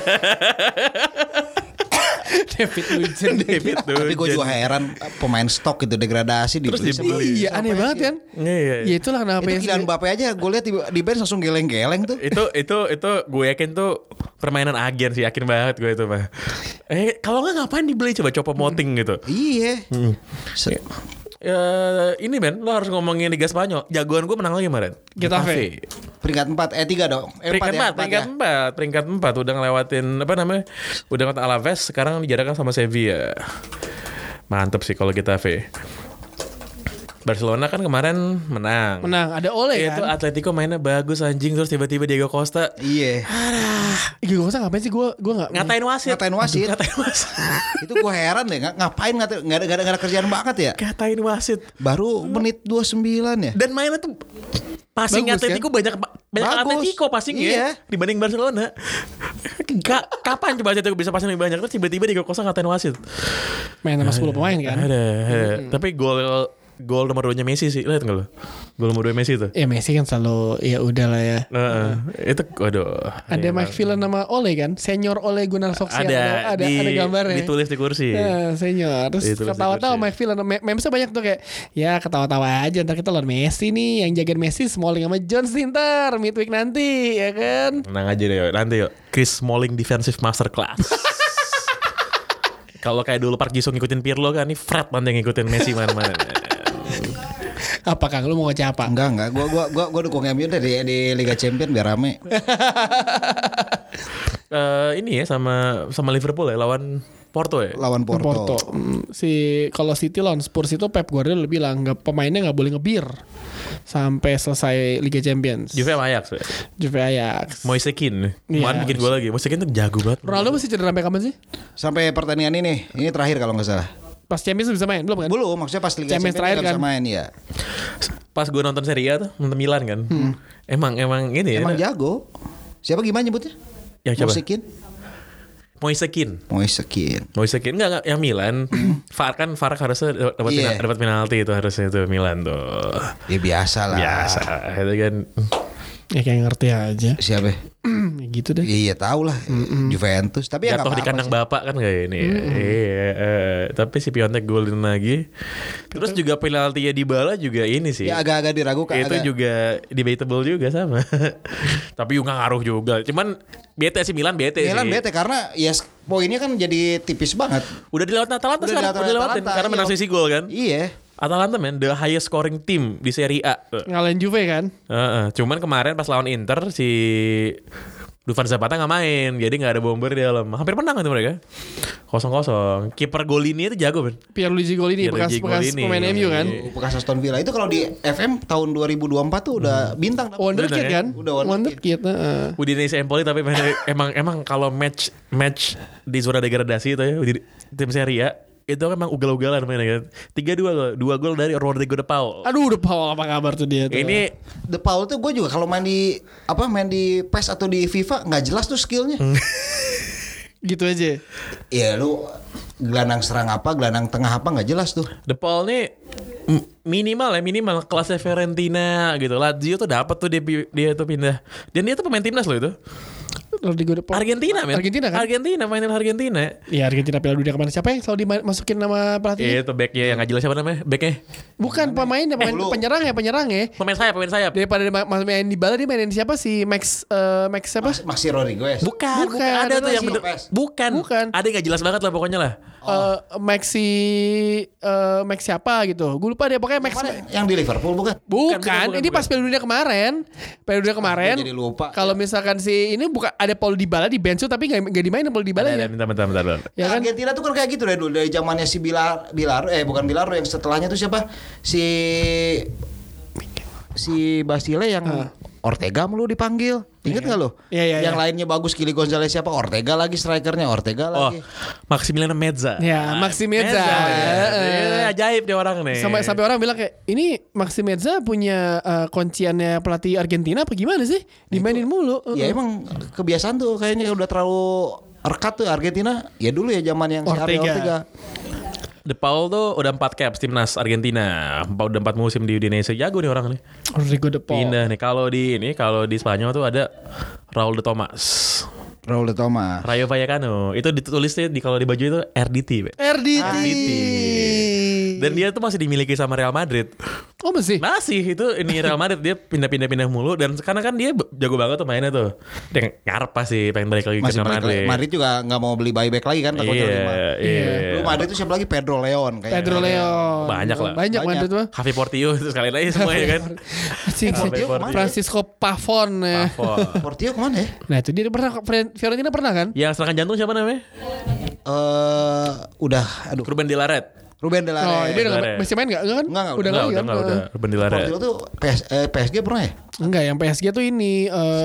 [SPEAKER 1] David Nugent.
[SPEAKER 3] Tapi gue juga heran pemain stok itu degradasi
[SPEAKER 2] Terus
[SPEAKER 3] dibeli.
[SPEAKER 1] Iya aneh banget kan.
[SPEAKER 2] Iya.
[SPEAKER 1] Ya itulah kenapa
[SPEAKER 3] Itu Kylian Mbappe aja gue lihat di bench langsung geleng-geleng tuh.
[SPEAKER 2] Itu gue yakin tuh permainan agen sih, yakin banget gue itu mah. Kalau nggak ngapain dibeli coba Choupo-Moting gitu.
[SPEAKER 3] Iya.
[SPEAKER 2] Ini Ben, lo harus ngomongin Liga Spanyol. Jagoan gue menang lagi kemarin.
[SPEAKER 1] Getafe.
[SPEAKER 3] Peringkat 4 3 dong.
[SPEAKER 2] Peringkat 4 udah ngelewatin udah ngelewatin Alaves, sekarang dijarakkan sama Sevilla. Mantep sih kalau Getafe. Barcelona kan kemarin menang.
[SPEAKER 1] Ada Ole kan.
[SPEAKER 2] Itu Atletico mainnya bagus anjing, terus tiba-tiba Diego Costa.
[SPEAKER 3] Iya.
[SPEAKER 1] Diego Costa ngapain sih gue nggak
[SPEAKER 2] ngatain wasit.
[SPEAKER 3] Itu gue heran deh, ngapain nggak ada kerjaan banget ya.
[SPEAKER 2] Ngatain wasit.
[SPEAKER 3] Baru menit 29 ya.
[SPEAKER 2] Dan mainnya tuh passing Atletico kan? banyak Atletico passing ya dibanding Barcelona. Kapan coba Atletico bisa passing lebih banyak, terus tiba-tiba Diego Costa ngatain wasit.
[SPEAKER 1] Main sama 10 pemain kan.
[SPEAKER 2] Ada. Tapi gol nomor 2-nya Messi sih. Lihat enggak lo? Gol nomor 2 Messi tuh.
[SPEAKER 1] Ya Messi kan selalu ya udahlah ya.
[SPEAKER 2] Itu waduh.
[SPEAKER 1] Ada McPhillan nama Ole kan? Senior Ole Gunnar Solskjaer. Ada gambarnya.
[SPEAKER 2] Ditulis di kursi.
[SPEAKER 1] Senior. Terus ketawa-tawa McPhillan memesnya banyak tuh kayak ya ketawa-tawa aja, ntar kita lawan Messi nih, yang jagain Messi Smalling sama Jones ntar midweek nanti ya kan.
[SPEAKER 2] Tenang aja deh nanti yuk. Chris Smalling defensive masterclass. Kalau kayak dulu Park Ji-sung ngikutin Pirlo kan, nih Fred nanti ngikutin Messi mana-mana.
[SPEAKER 1] Apa Kang, lu mau ngoceh apa?
[SPEAKER 3] Enggak. Gua dukung MU deh di Liga Champions biar rame.
[SPEAKER 2] Ini ya sama Liverpool ya lawan Porto ya.
[SPEAKER 3] Lawan Porto.
[SPEAKER 1] Kalau City lawan Spurs itu Pep Guardiola bilang pemainnya nggak boleh ngebir sampai selesai Liga Champions.
[SPEAKER 2] Juve Ajax. Moise Kean. Kemarin bikin gol lagi. Moise Kean tuh jago banget.
[SPEAKER 1] Ronaldo masih cedera sampai kapan sih?
[SPEAKER 3] Sampai pertandingan ini terakhir kalau nggak salah.
[SPEAKER 1] Pas Champions bisa main belum kan?
[SPEAKER 3] Belum, maksudnya pas Liga Champions
[SPEAKER 1] terakhir kan
[SPEAKER 3] bisa main ya.
[SPEAKER 2] Pas gue nonton Serie A tuh, nonton Milan kan. Emang ini ya.
[SPEAKER 3] Emang jago. Siapa gimana nyebutnya?
[SPEAKER 2] Yang siapa?
[SPEAKER 3] Moise Kean.
[SPEAKER 2] Enggak yang Milan. VAR harusnya dapat penalti itu harusnya itu Milan tuh.
[SPEAKER 3] Ya biasa lah.
[SPEAKER 2] Biasa itu kan.
[SPEAKER 1] Ya kayak ngerti aja.
[SPEAKER 3] Siapa?
[SPEAKER 1] Ya gitu deh.
[SPEAKER 3] Iya tahu lah. Juventus. Tapi
[SPEAKER 2] jatuh di kandang bapak kan kayak ini. Tapi si Piontek golin lagi. Terus juga penaltinya Dybala juga ini sih.
[SPEAKER 3] Ya agak-agak diragukan.
[SPEAKER 2] Itu juga debatable juga sama. Tapi juga ngaruh juga. Cuman bete sih Milan bete
[SPEAKER 3] karena ya poinnya kan jadi tipis banget.
[SPEAKER 2] Udah dilewatin Atalanta sekarang. Udah dilewatin karena menang sisi gol kan.
[SPEAKER 3] Iya.
[SPEAKER 2] Atalanta the highest scoring team di Serie A.
[SPEAKER 1] Ngalahin Juve kan.
[SPEAKER 2] Cuman kemarin pas lawan Inter si Dufan Zapata gak main, jadi gak ada bomber di dalam. Hampir menang itu mereka 0-0. Kiper Golini itu jago Ben.
[SPEAKER 1] Pierluigi Golini bekas pemain MU kan.
[SPEAKER 3] Bekas Aston Villa. Itu kalau di FM tahun 2024 tuh udah bintang.
[SPEAKER 1] Wonderkid kan.
[SPEAKER 3] Udah
[SPEAKER 1] Wonderkid.
[SPEAKER 2] Udinese Empoli tapi emang kalau match di zona degradasi itu ya di tim Serie A itu emang ugal-ugalan mainnya kan. 3-2 gol dari Rodrigo De Paul.
[SPEAKER 1] Aduh, De Paul apa kabar tuh dia tuh.
[SPEAKER 2] Ini
[SPEAKER 3] De Paul tuh gue juga kalau main di PES atau di FIFA nggak jelas tuh skillnya.
[SPEAKER 1] Gitu aja.
[SPEAKER 3] Iya lu gelandang serang apa, gelandang tengah apa nggak jelas tuh.
[SPEAKER 2] De Paul nih minimal kelasnya Fiorentina gitu. Lazio tuh dapat tuh dia tuh pindah. Dan dia tuh pemain timnas loh itu.
[SPEAKER 1] Rodrigo De Paul.
[SPEAKER 2] Argentina men.
[SPEAKER 1] Argentina kan?
[SPEAKER 2] Argentina, final Argentina.
[SPEAKER 1] Iya Argentina Piala Dunia kemarin. Siapa yang selalu dimasukin nama pelatihnya?
[SPEAKER 2] Itu backnya yang gak jelas siapa namanya? Backnya
[SPEAKER 1] Bukan pemain
[SPEAKER 3] lu.
[SPEAKER 1] penyerang ya.
[SPEAKER 2] pemain sayap.
[SPEAKER 1] Daripada main di bala dia mainin siapa sih? Max siapa?
[SPEAKER 3] Maxi Rodriguez.
[SPEAKER 2] Bukan,
[SPEAKER 1] Bukan,
[SPEAKER 2] ada tuh
[SPEAKER 1] ada
[SPEAKER 2] yang
[SPEAKER 3] si
[SPEAKER 2] bener.
[SPEAKER 3] Lopez.
[SPEAKER 2] Bukan. Ada yang gak jelas banget lah pokoknya lah.
[SPEAKER 1] Max siapa gitu. Gue lupa deh pokoknya Max.
[SPEAKER 3] Mana? Yang di Liverpool bukan?
[SPEAKER 1] Bukan, ini pas
[SPEAKER 2] bukan.
[SPEAKER 1] Piala Dunia kemarin. Piala Dunia kemarin.
[SPEAKER 3] Gua jadi lupa.
[SPEAKER 1] Kalau misalkan si ini bukan ada Paul Dybala di bench tuh tapi enggak dimainin Paul Dybala
[SPEAKER 2] Ada,
[SPEAKER 1] ya.
[SPEAKER 2] bentar.
[SPEAKER 1] Ya kan?
[SPEAKER 3] Argentina tuh kan kayak gitu dari dulu, dari zamannya si bukan Bilaro, yang setelahnya tuh siapa? Si Basile yang Ortega mulu dipanggil. Ingat nggak lo?
[SPEAKER 1] Iya.
[SPEAKER 3] Yang lainnya bagus, Kili Gonzalez siapa? Ortega lagi strikernya, Ortega
[SPEAKER 2] Oh,
[SPEAKER 3] lagi.
[SPEAKER 2] Maximiliano Meza.
[SPEAKER 1] Ya, Maxi Meza.
[SPEAKER 2] Dia ajaib dia orang nih.
[SPEAKER 1] Sampai orang bilang kayak ini Maxi Meza punya kunciannya pelatih Argentina apa gimana sih? Dimainin mulu.
[SPEAKER 3] Ya emang kebiasaan tuh kayaknya udah terlalu rekat tuh Argentina. Ya dulu ya zaman yang si Ariel Ortega.
[SPEAKER 2] De Paul tuh udah 4 caps timnas Argentina. Udah 4 musim di Udinese. Jago nih orang nih.
[SPEAKER 1] Rodrigo De Paul.
[SPEAKER 2] Pindah nih. Kalau di Spanyol tuh ada Raul de Tomas.
[SPEAKER 3] Raul de Tomas.
[SPEAKER 2] Rayo Vallecano. Itu ditulisnya kalau di baju itu RDT.
[SPEAKER 1] RDT.
[SPEAKER 2] Dan dia tuh masih dimiliki sama Real Madrid.
[SPEAKER 1] Oh masih?
[SPEAKER 2] Masih itu ini Real Madrid, dia pindah mulu, dan karena kan dia jago banget tuh mainnya tuh. Dia ngarep pasti pengen balik lagi ke
[SPEAKER 3] Masih
[SPEAKER 2] Real Madrid.
[SPEAKER 3] Madrid juga nggak mau beli buyback lagi kan takutnya lima.
[SPEAKER 2] Iya.
[SPEAKER 3] Lu Madrid tuh siapa lagi? Pedro Leon kayaknya.
[SPEAKER 1] Pedro Leon.
[SPEAKER 2] Banyak lah.
[SPEAKER 1] Banyak Madrid mah.
[SPEAKER 2] Javi Portillo itu sekali lagi semuanya kan.
[SPEAKER 1] Portillo
[SPEAKER 3] kemana?
[SPEAKER 1] Francisco Pavon ya.
[SPEAKER 3] Portillo kemana ya?
[SPEAKER 1] Nah itu dia pernah Fiorentina pernah kan?
[SPEAKER 2] Yang serangan jantung siapa namanya?
[SPEAKER 3] Udah aduh.
[SPEAKER 2] Ruben de la Red.
[SPEAKER 3] Ruben de la
[SPEAKER 1] Oh
[SPEAKER 3] Red.
[SPEAKER 1] dia udah
[SPEAKER 2] Laret.
[SPEAKER 1] masih main gak? Enggak kan?
[SPEAKER 3] Enggak,
[SPEAKER 1] Udah lagi kan?
[SPEAKER 2] Udah. Ruben de la Red.
[SPEAKER 3] Portillo tuh PSG pernah ya?
[SPEAKER 1] Enggak, yang PSG tuh ini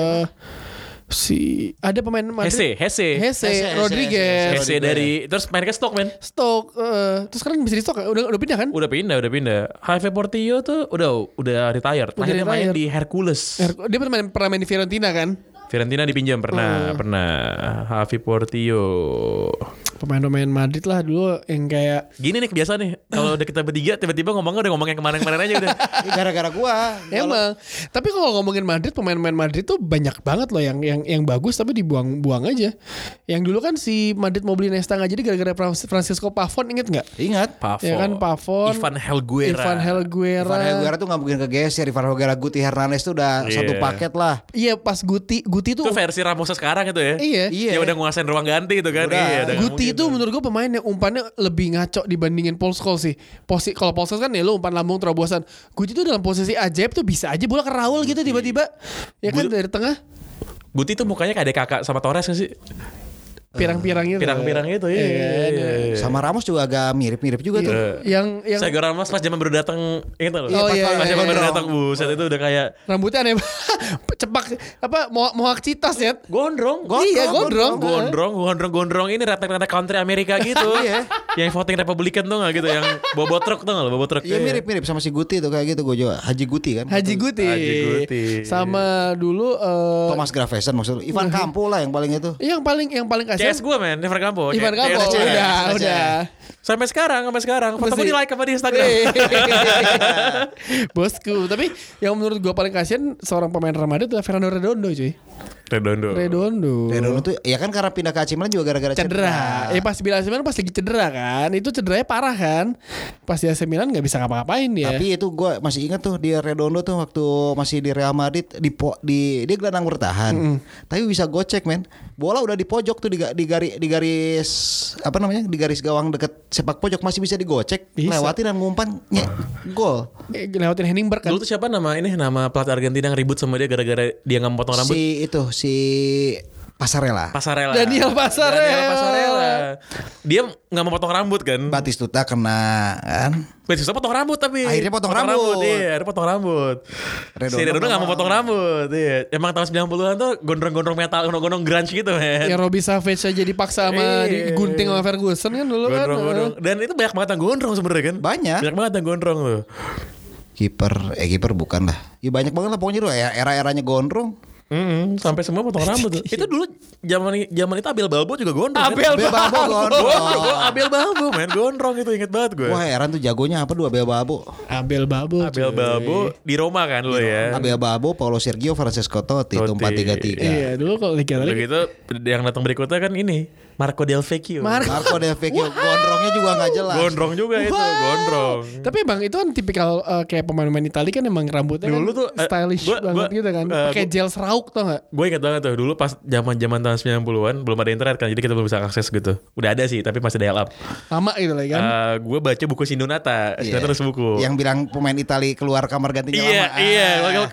[SPEAKER 1] si ada pemain Madrid.
[SPEAKER 2] Hesse
[SPEAKER 1] Rodriguez.
[SPEAKER 2] Hesse dari terus main ke Stoke men.
[SPEAKER 1] Stoke terus sekarang bisa di Stoke kan? Udah pindah kan?
[SPEAKER 2] Udah pindah. Javi Portillo tuh udah retired.
[SPEAKER 1] Udah
[SPEAKER 2] Akhirnya main
[SPEAKER 1] retired.
[SPEAKER 2] di Hercules.
[SPEAKER 1] Dia pernah main di Fiorentina kan?
[SPEAKER 2] Fiorentina dipinjam pernah. Javi Portillo.
[SPEAKER 1] Pemain-pemain Madrid lah dulu yang kayak
[SPEAKER 2] Gini nih kebiasaan nih. Kalau udah kita bertiga tiba-tiba ngomong yang kemarin-kemarin aja udah.
[SPEAKER 3] Gara-gara gua.
[SPEAKER 1] emang. Tapi kalau ngomongin Madrid, pemain-pemain Madrid tuh banyak banget loh yang bagus tapi dibuang aja. Yang dulu kan si Madrid mau beli Nesta nggak jadi gara-gara Francisco Pavon, inget nggak?
[SPEAKER 3] Ingat.
[SPEAKER 2] Pavon.
[SPEAKER 1] Ya kan Pavon.
[SPEAKER 2] Ivan Helguera.
[SPEAKER 3] Ivan Helguera tuh nggak mungkin kegeser. Ivan Helguera, Guti Hernandez tuh udah
[SPEAKER 2] Iya.
[SPEAKER 3] satu paket lah.
[SPEAKER 1] Iya pas Guti tuh
[SPEAKER 2] Itu versi Ramos sekarang itu ya.
[SPEAKER 1] Iya.
[SPEAKER 2] Yang udah nguasain ruang ganti itu kan.
[SPEAKER 3] Udah.
[SPEAKER 2] Iya, udah nggak
[SPEAKER 1] Guti
[SPEAKER 2] mungkin
[SPEAKER 1] itu
[SPEAKER 2] tuh.
[SPEAKER 1] menurut gue pemain yang umpannya lebih ngaco dibandingin Paul Scholes sih. Kalau Paul Scholes kan ya lu umpan lambung terobosan. Guti itu dalam posisi ajaib tuh bisa aja bola ke Raul gitu tiba-tiba. Ya kan dari tengah
[SPEAKER 2] Guti tuh mukanya kayak ada kakak sama Torres gak sih?
[SPEAKER 1] pirang-pirang gitu.
[SPEAKER 2] Pirang-pirang itu iya.
[SPEAKER 3] Sama Ramos juga agak mirip-mirip juga tuh.
[SPEAKER 1] Yang
[SPEAKER 2] Sergio Ramos pas zaman baru datang ingat loh.
[SPEAKER 1] Oh, iya,
[SPEAKER 2] Pas
[SPEAKER 1] iya,
[SPEAKER 2] zaman
[SPEAKER 1] iya.
[SPEAKER 2] baru datang buset itu udah kayak
[SPEAKER 1] rambutnya aneh cepak apa mohak citas ya.
[SPEAKER 2] gondrong.
[SPEAKER 1] Iya, gondrong.
[SPEAKER 2] Gondrong ini retak-retak country Amerika gitu.
[SPEAKER 3] Iya.
[SPEAKER 2] Yang voting Republikan tuh gak gitu, yang bobo truk tuh gak lo, bobo truk.
[SPEAKER 3] Iya mirip-mirip sama si Guti tuh kayak gitu gue juga. Haji Guti kan.
[SPEAKER 1] Haji Guti. Sama dulu
[SPEAKER 3] Thomas Gravesen maksudnya. Ivan Campo lah yang paling itu.
[SPEAKER 1] yang paling kasihan
[SPEAKER 2] CS gue men, Ivan Campo.
[SPEAKER 1] Ivan Campo
[SPEAKER 2] CS.
[SPEAKER 1] udah.
[SPEAKER 2] Sampai sekarang. Foto gue
[SPEAKER 1] Masih.
[SPEAKER 2] di like sama di Instagram.
[SPEAKER 1] Bosku. Tapi yang menurut gue paling kasihan seorang pemain Real Madrid adalah Fernando Redondo cuy.
[SPEAKER 2] Redondo.
[SPEAKER 3] Redondo tuh ya kan karena pindah ke AC Milan juga gara-gara
[SPEAKER 1] Cedera. Pas di AC Milan pas lagi cedera kan. Itu cederanya parah kan. Pas di AC Milan gak bisa ngapa-ngapain dia.
[SPEAKER 3] Tapi itu gue masih ingat tuh dia Redondo tuh waktu masih di Real Madrid dia gelandang bertahan. Tapi bisa gocek men. Bola udah di pojok tuh di garis apa namanya? Di garis gawang deket sepak pojok masih bisa digocek,
[SPEAKER 1] Bisa.
[SPEAKER 3] lewatin dan ngumpan gol.
[SPEAKER 1] Lewatin Henningberg kan.
[SPEAKER 2] Dulu tuh siapa nama pelatih Argentina yang ribut sama dia gara-gara dia gak memotong rambut?
[SPEAKER 3] Si Pasarela.
[SPEAKER 1] Daniel Pasarela.
[SPEAKER 2] Dia gak mau potong rambut kan?
[SPEAKER 3] Batistuta kena kan.
[SPEAKER 2] Susah potong rambut tapi.
[SPEAKER 3] Akhirnya potong rambut.
[SPEAKER 2] Iya, akhirnya potong rambut. Si Redondo gak mau potong rambut. Iya. Emang tahun 90-an tuh gondrong-gondrong metal, gondrong grunge gitu men.
[SPEAKER 1] Yang Robbie Savage aja dipaksa sama
[SPEAKER 2] Iya.
[SPEAKER 1] digunting sama Ferguson kan dulu kan.
[SPEAKER 2] Gondrong. Dan itu banyak banget yang gondrong sebenarnya kan?
[SPEAKER 3] Banyak.
[SPEAKER 2] Banyak banget yang gondrong tuh.
[SPEAKER 3] Kiper bukan lah. Ya banyak banget lah pokoknya tuh era-eranya gondrong.
[SPEAKER 2] Sampai semua potong rambut tuh. Itu dulu zaman itu Abel Balbo juga gondrong.
[SPEAKER 1] Abel
[SPEAKER 3] Balbo gondrong.
[SPEAKER 2] Abel Balbo main gondrong itu inget banget gue.
[SPEAKER 3] Wah heran tuh jagonya apa dua Abel Balbo.
[SPEAKER 1] Abel Balbo.
[SPEAKER 2] Abel Balbo di Roma kan lo ya.
[SPEAKER 3] Abel Balbo, Paulo Sergio, Francesco Totti itu 4-3-3.
[SPEAKER 1] Iya dulu kalau Liga
[SPEAKER 2] Udah
[SPEAKER 1] Italia
[SPEAKER 2] gitu yang datang berikutnya kan ini Marco Del Vecchio.
[SPEAKER 3] Marco Del Vecchio gondrongnya juga nggak jelas.
[SPEAKER 2] Gondrong juga itu, gondrong.
[SPEAKER 1] Tapi bang itu kan tipikal kayak pemain-pemain Italia kan emang rambutnya
[SPEAKER 2] Dulu
[SPEAKER 1] kan
[SPEAKER 2] tuh,
[SPEAKER 1] stylish banget gitu kan. Pakai gel serauk tau gak?
[SPEAKER 2] Gue ingat banget tuh dulu pas zaman tahun 90-an belum ada internet kan, jadi kita belum bisa akses gitu. Udah ada sih tapi masih dial up.
[SPEAKER 1] Lama gitu lah kan.
[SPEAKER 2] Gue baca buku Sindonata, Sindonata terus buku.
[SPEAKER 3] Yang bilang pemain Italia keluar kamar gantinya
[SPEAKER 2] Iya,
[SPEAKER 3] lama.
[SPEAKER 2] iya.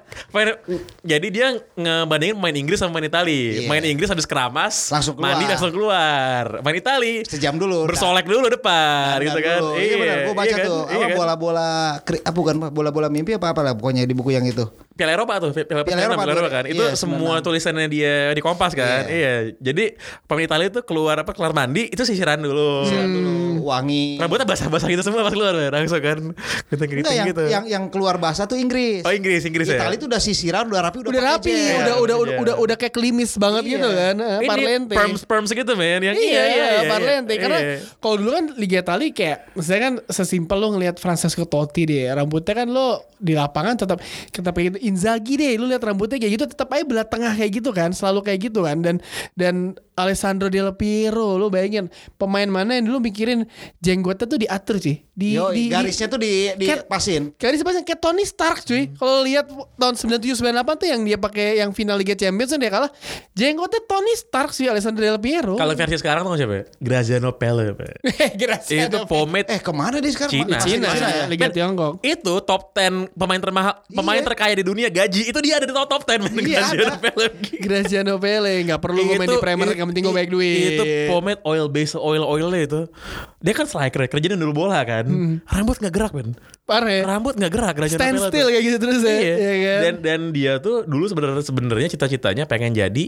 [SPEAKER 2] Jadi dia ngebandingin pemain Inggris sama pemain Italia.
[SPEAKER 3] Iya.
[SPEAKER 2] Main Inggris habis keramas,
[SPEAKER 3] Langsung keluar.
[SPEAKER 2] mandi langsung keluar. Main Italia
[SPEAKER 3] Sejam dulu.
[SPEAKER 2] bersolek dulu depan gitu kan.
[SPEAKER 3] Iya benar, gue baca
[SPEAKER 2] kan?
[SPEAKER 3] tuh.
[SPEAKER 2] Iya
[SPEAKER 3] Apa
[SPEAKER 2] kan?
[SPEAKER 3] bola-bola bukan bola-bola mimpi apa lah pokoknya di buku yang itu.
[SPEAKER 2] Piala Eropa tuh, Piala
[SPEAKER 3] Eropa
[SPEAKER 2] Eropa kan. Itu
[SPEAKER 3] iya,
[SPEAKER 2] semua
[SPEAKER 3] 96.
[SPEAKER 2] tulisannya dia di Kompas kan. Iya. Jadi pemain Italia itu keluar mandi itu sisiran dulu.
[SPEAKER 3] Wangi.
[SPEAKER 2] Rambutnya basah-basah gitu semua pas keluar langsung kan. Keriting
[SPEAKER 3] Enggak
[SPEAKER 2] gitu.
[SPEAKER 3] yang keluar basah tuh Inggris.
[SPEAKER 2] Oh Inggris ya.
[SPEAKER 3] Italia tuh udah sisiran, udah rapi,
[SPEAKER 1] Udah rapi,
[SPEAKER 3] pakai gel.
[SPEAKER 1] udah kayak klimis banget
[SPEAKER 3] Iya.
[SPEAKER 1] gitu kan.
[SPEAKER 2] Ini
[SPEAKER 1] Parlente.
[SPEAKER 2] perms gitu men. Yang
[SPEAKER 1] Iya, Parlente. Karena
[SPEAKER 2] Iya.
[SPEAKER 1] kalau dulu kan Liga Italia kayak misalnya kan sesimpel lo ngelihat Francesco Totti deh, rambutnya kan lo di lapangan tetap kayak gitu. Inzaghi deh, lo lihat rambutnya kayak gitu tetap aja belah tengah kayak gitu kan, selalu kayak gitu kan. Dan Alessandro Del Piero, lo bayangin pemain mana yang dulu mikirin jenggotnya tuh diatur sih.
[SPEAKER 3] Garisnya tuh dipasin.
[SPEAKER 1] Garis pasang kayak Tony Stark cuy. Kalau lihat tahun 97-98 tuh yang dia pakai yang final Liga Champions yang dia kalah, jenggotnya Tony Stark sih Alessandro Del Piero.
[SPEAKER 2] Kalau versi sekarang tuh siapa? Graziano Pelle. Itu pomade
[SPEAKER 3] Kemana dia sekarang?
[SPEAKER 2] Cina.
[SPEAKER 1] ya, Liga
[SPEAKER 2] Men,
[SPEAKER 1] Tiongkok.
[SPEAKER 2] Itu top 10 pemain termahal, pemain terkaya di dunia gaji itu dia ada di top 10 men.
[SPEAKER 3] Iya,
[SPEAKER 2] Graziano
[SPEAKER 3] ada.
[SPEAKER 2] Pelle.
[SPEAKER 1] Graziano Pelle nggak perlu gue main di Premier, yang penting gue banyak duit.
[SPEAKER 2] Itu pomade oilnya itu. Dia kan striker, kerjanya dulu bola kan. Rambut nggak gerak men.
[SPEAKER 1] Parah.
[SPEAKER 2] Rambut nggak gerak. Graziano
[SPEAKER 1] Stand
[SPEAKER 2] Pelle
[SPEAKER 1] still
[SPEAKER 2] tuh.
[SPEAKER 1] kayak gitu terus ya.
[SPEAKER 2] Iya.
[SPEAKER 1] Iya kan?
[SPEAKER 2] Dan dia tuh dulu sebenarnya cita-citanya pengen jadi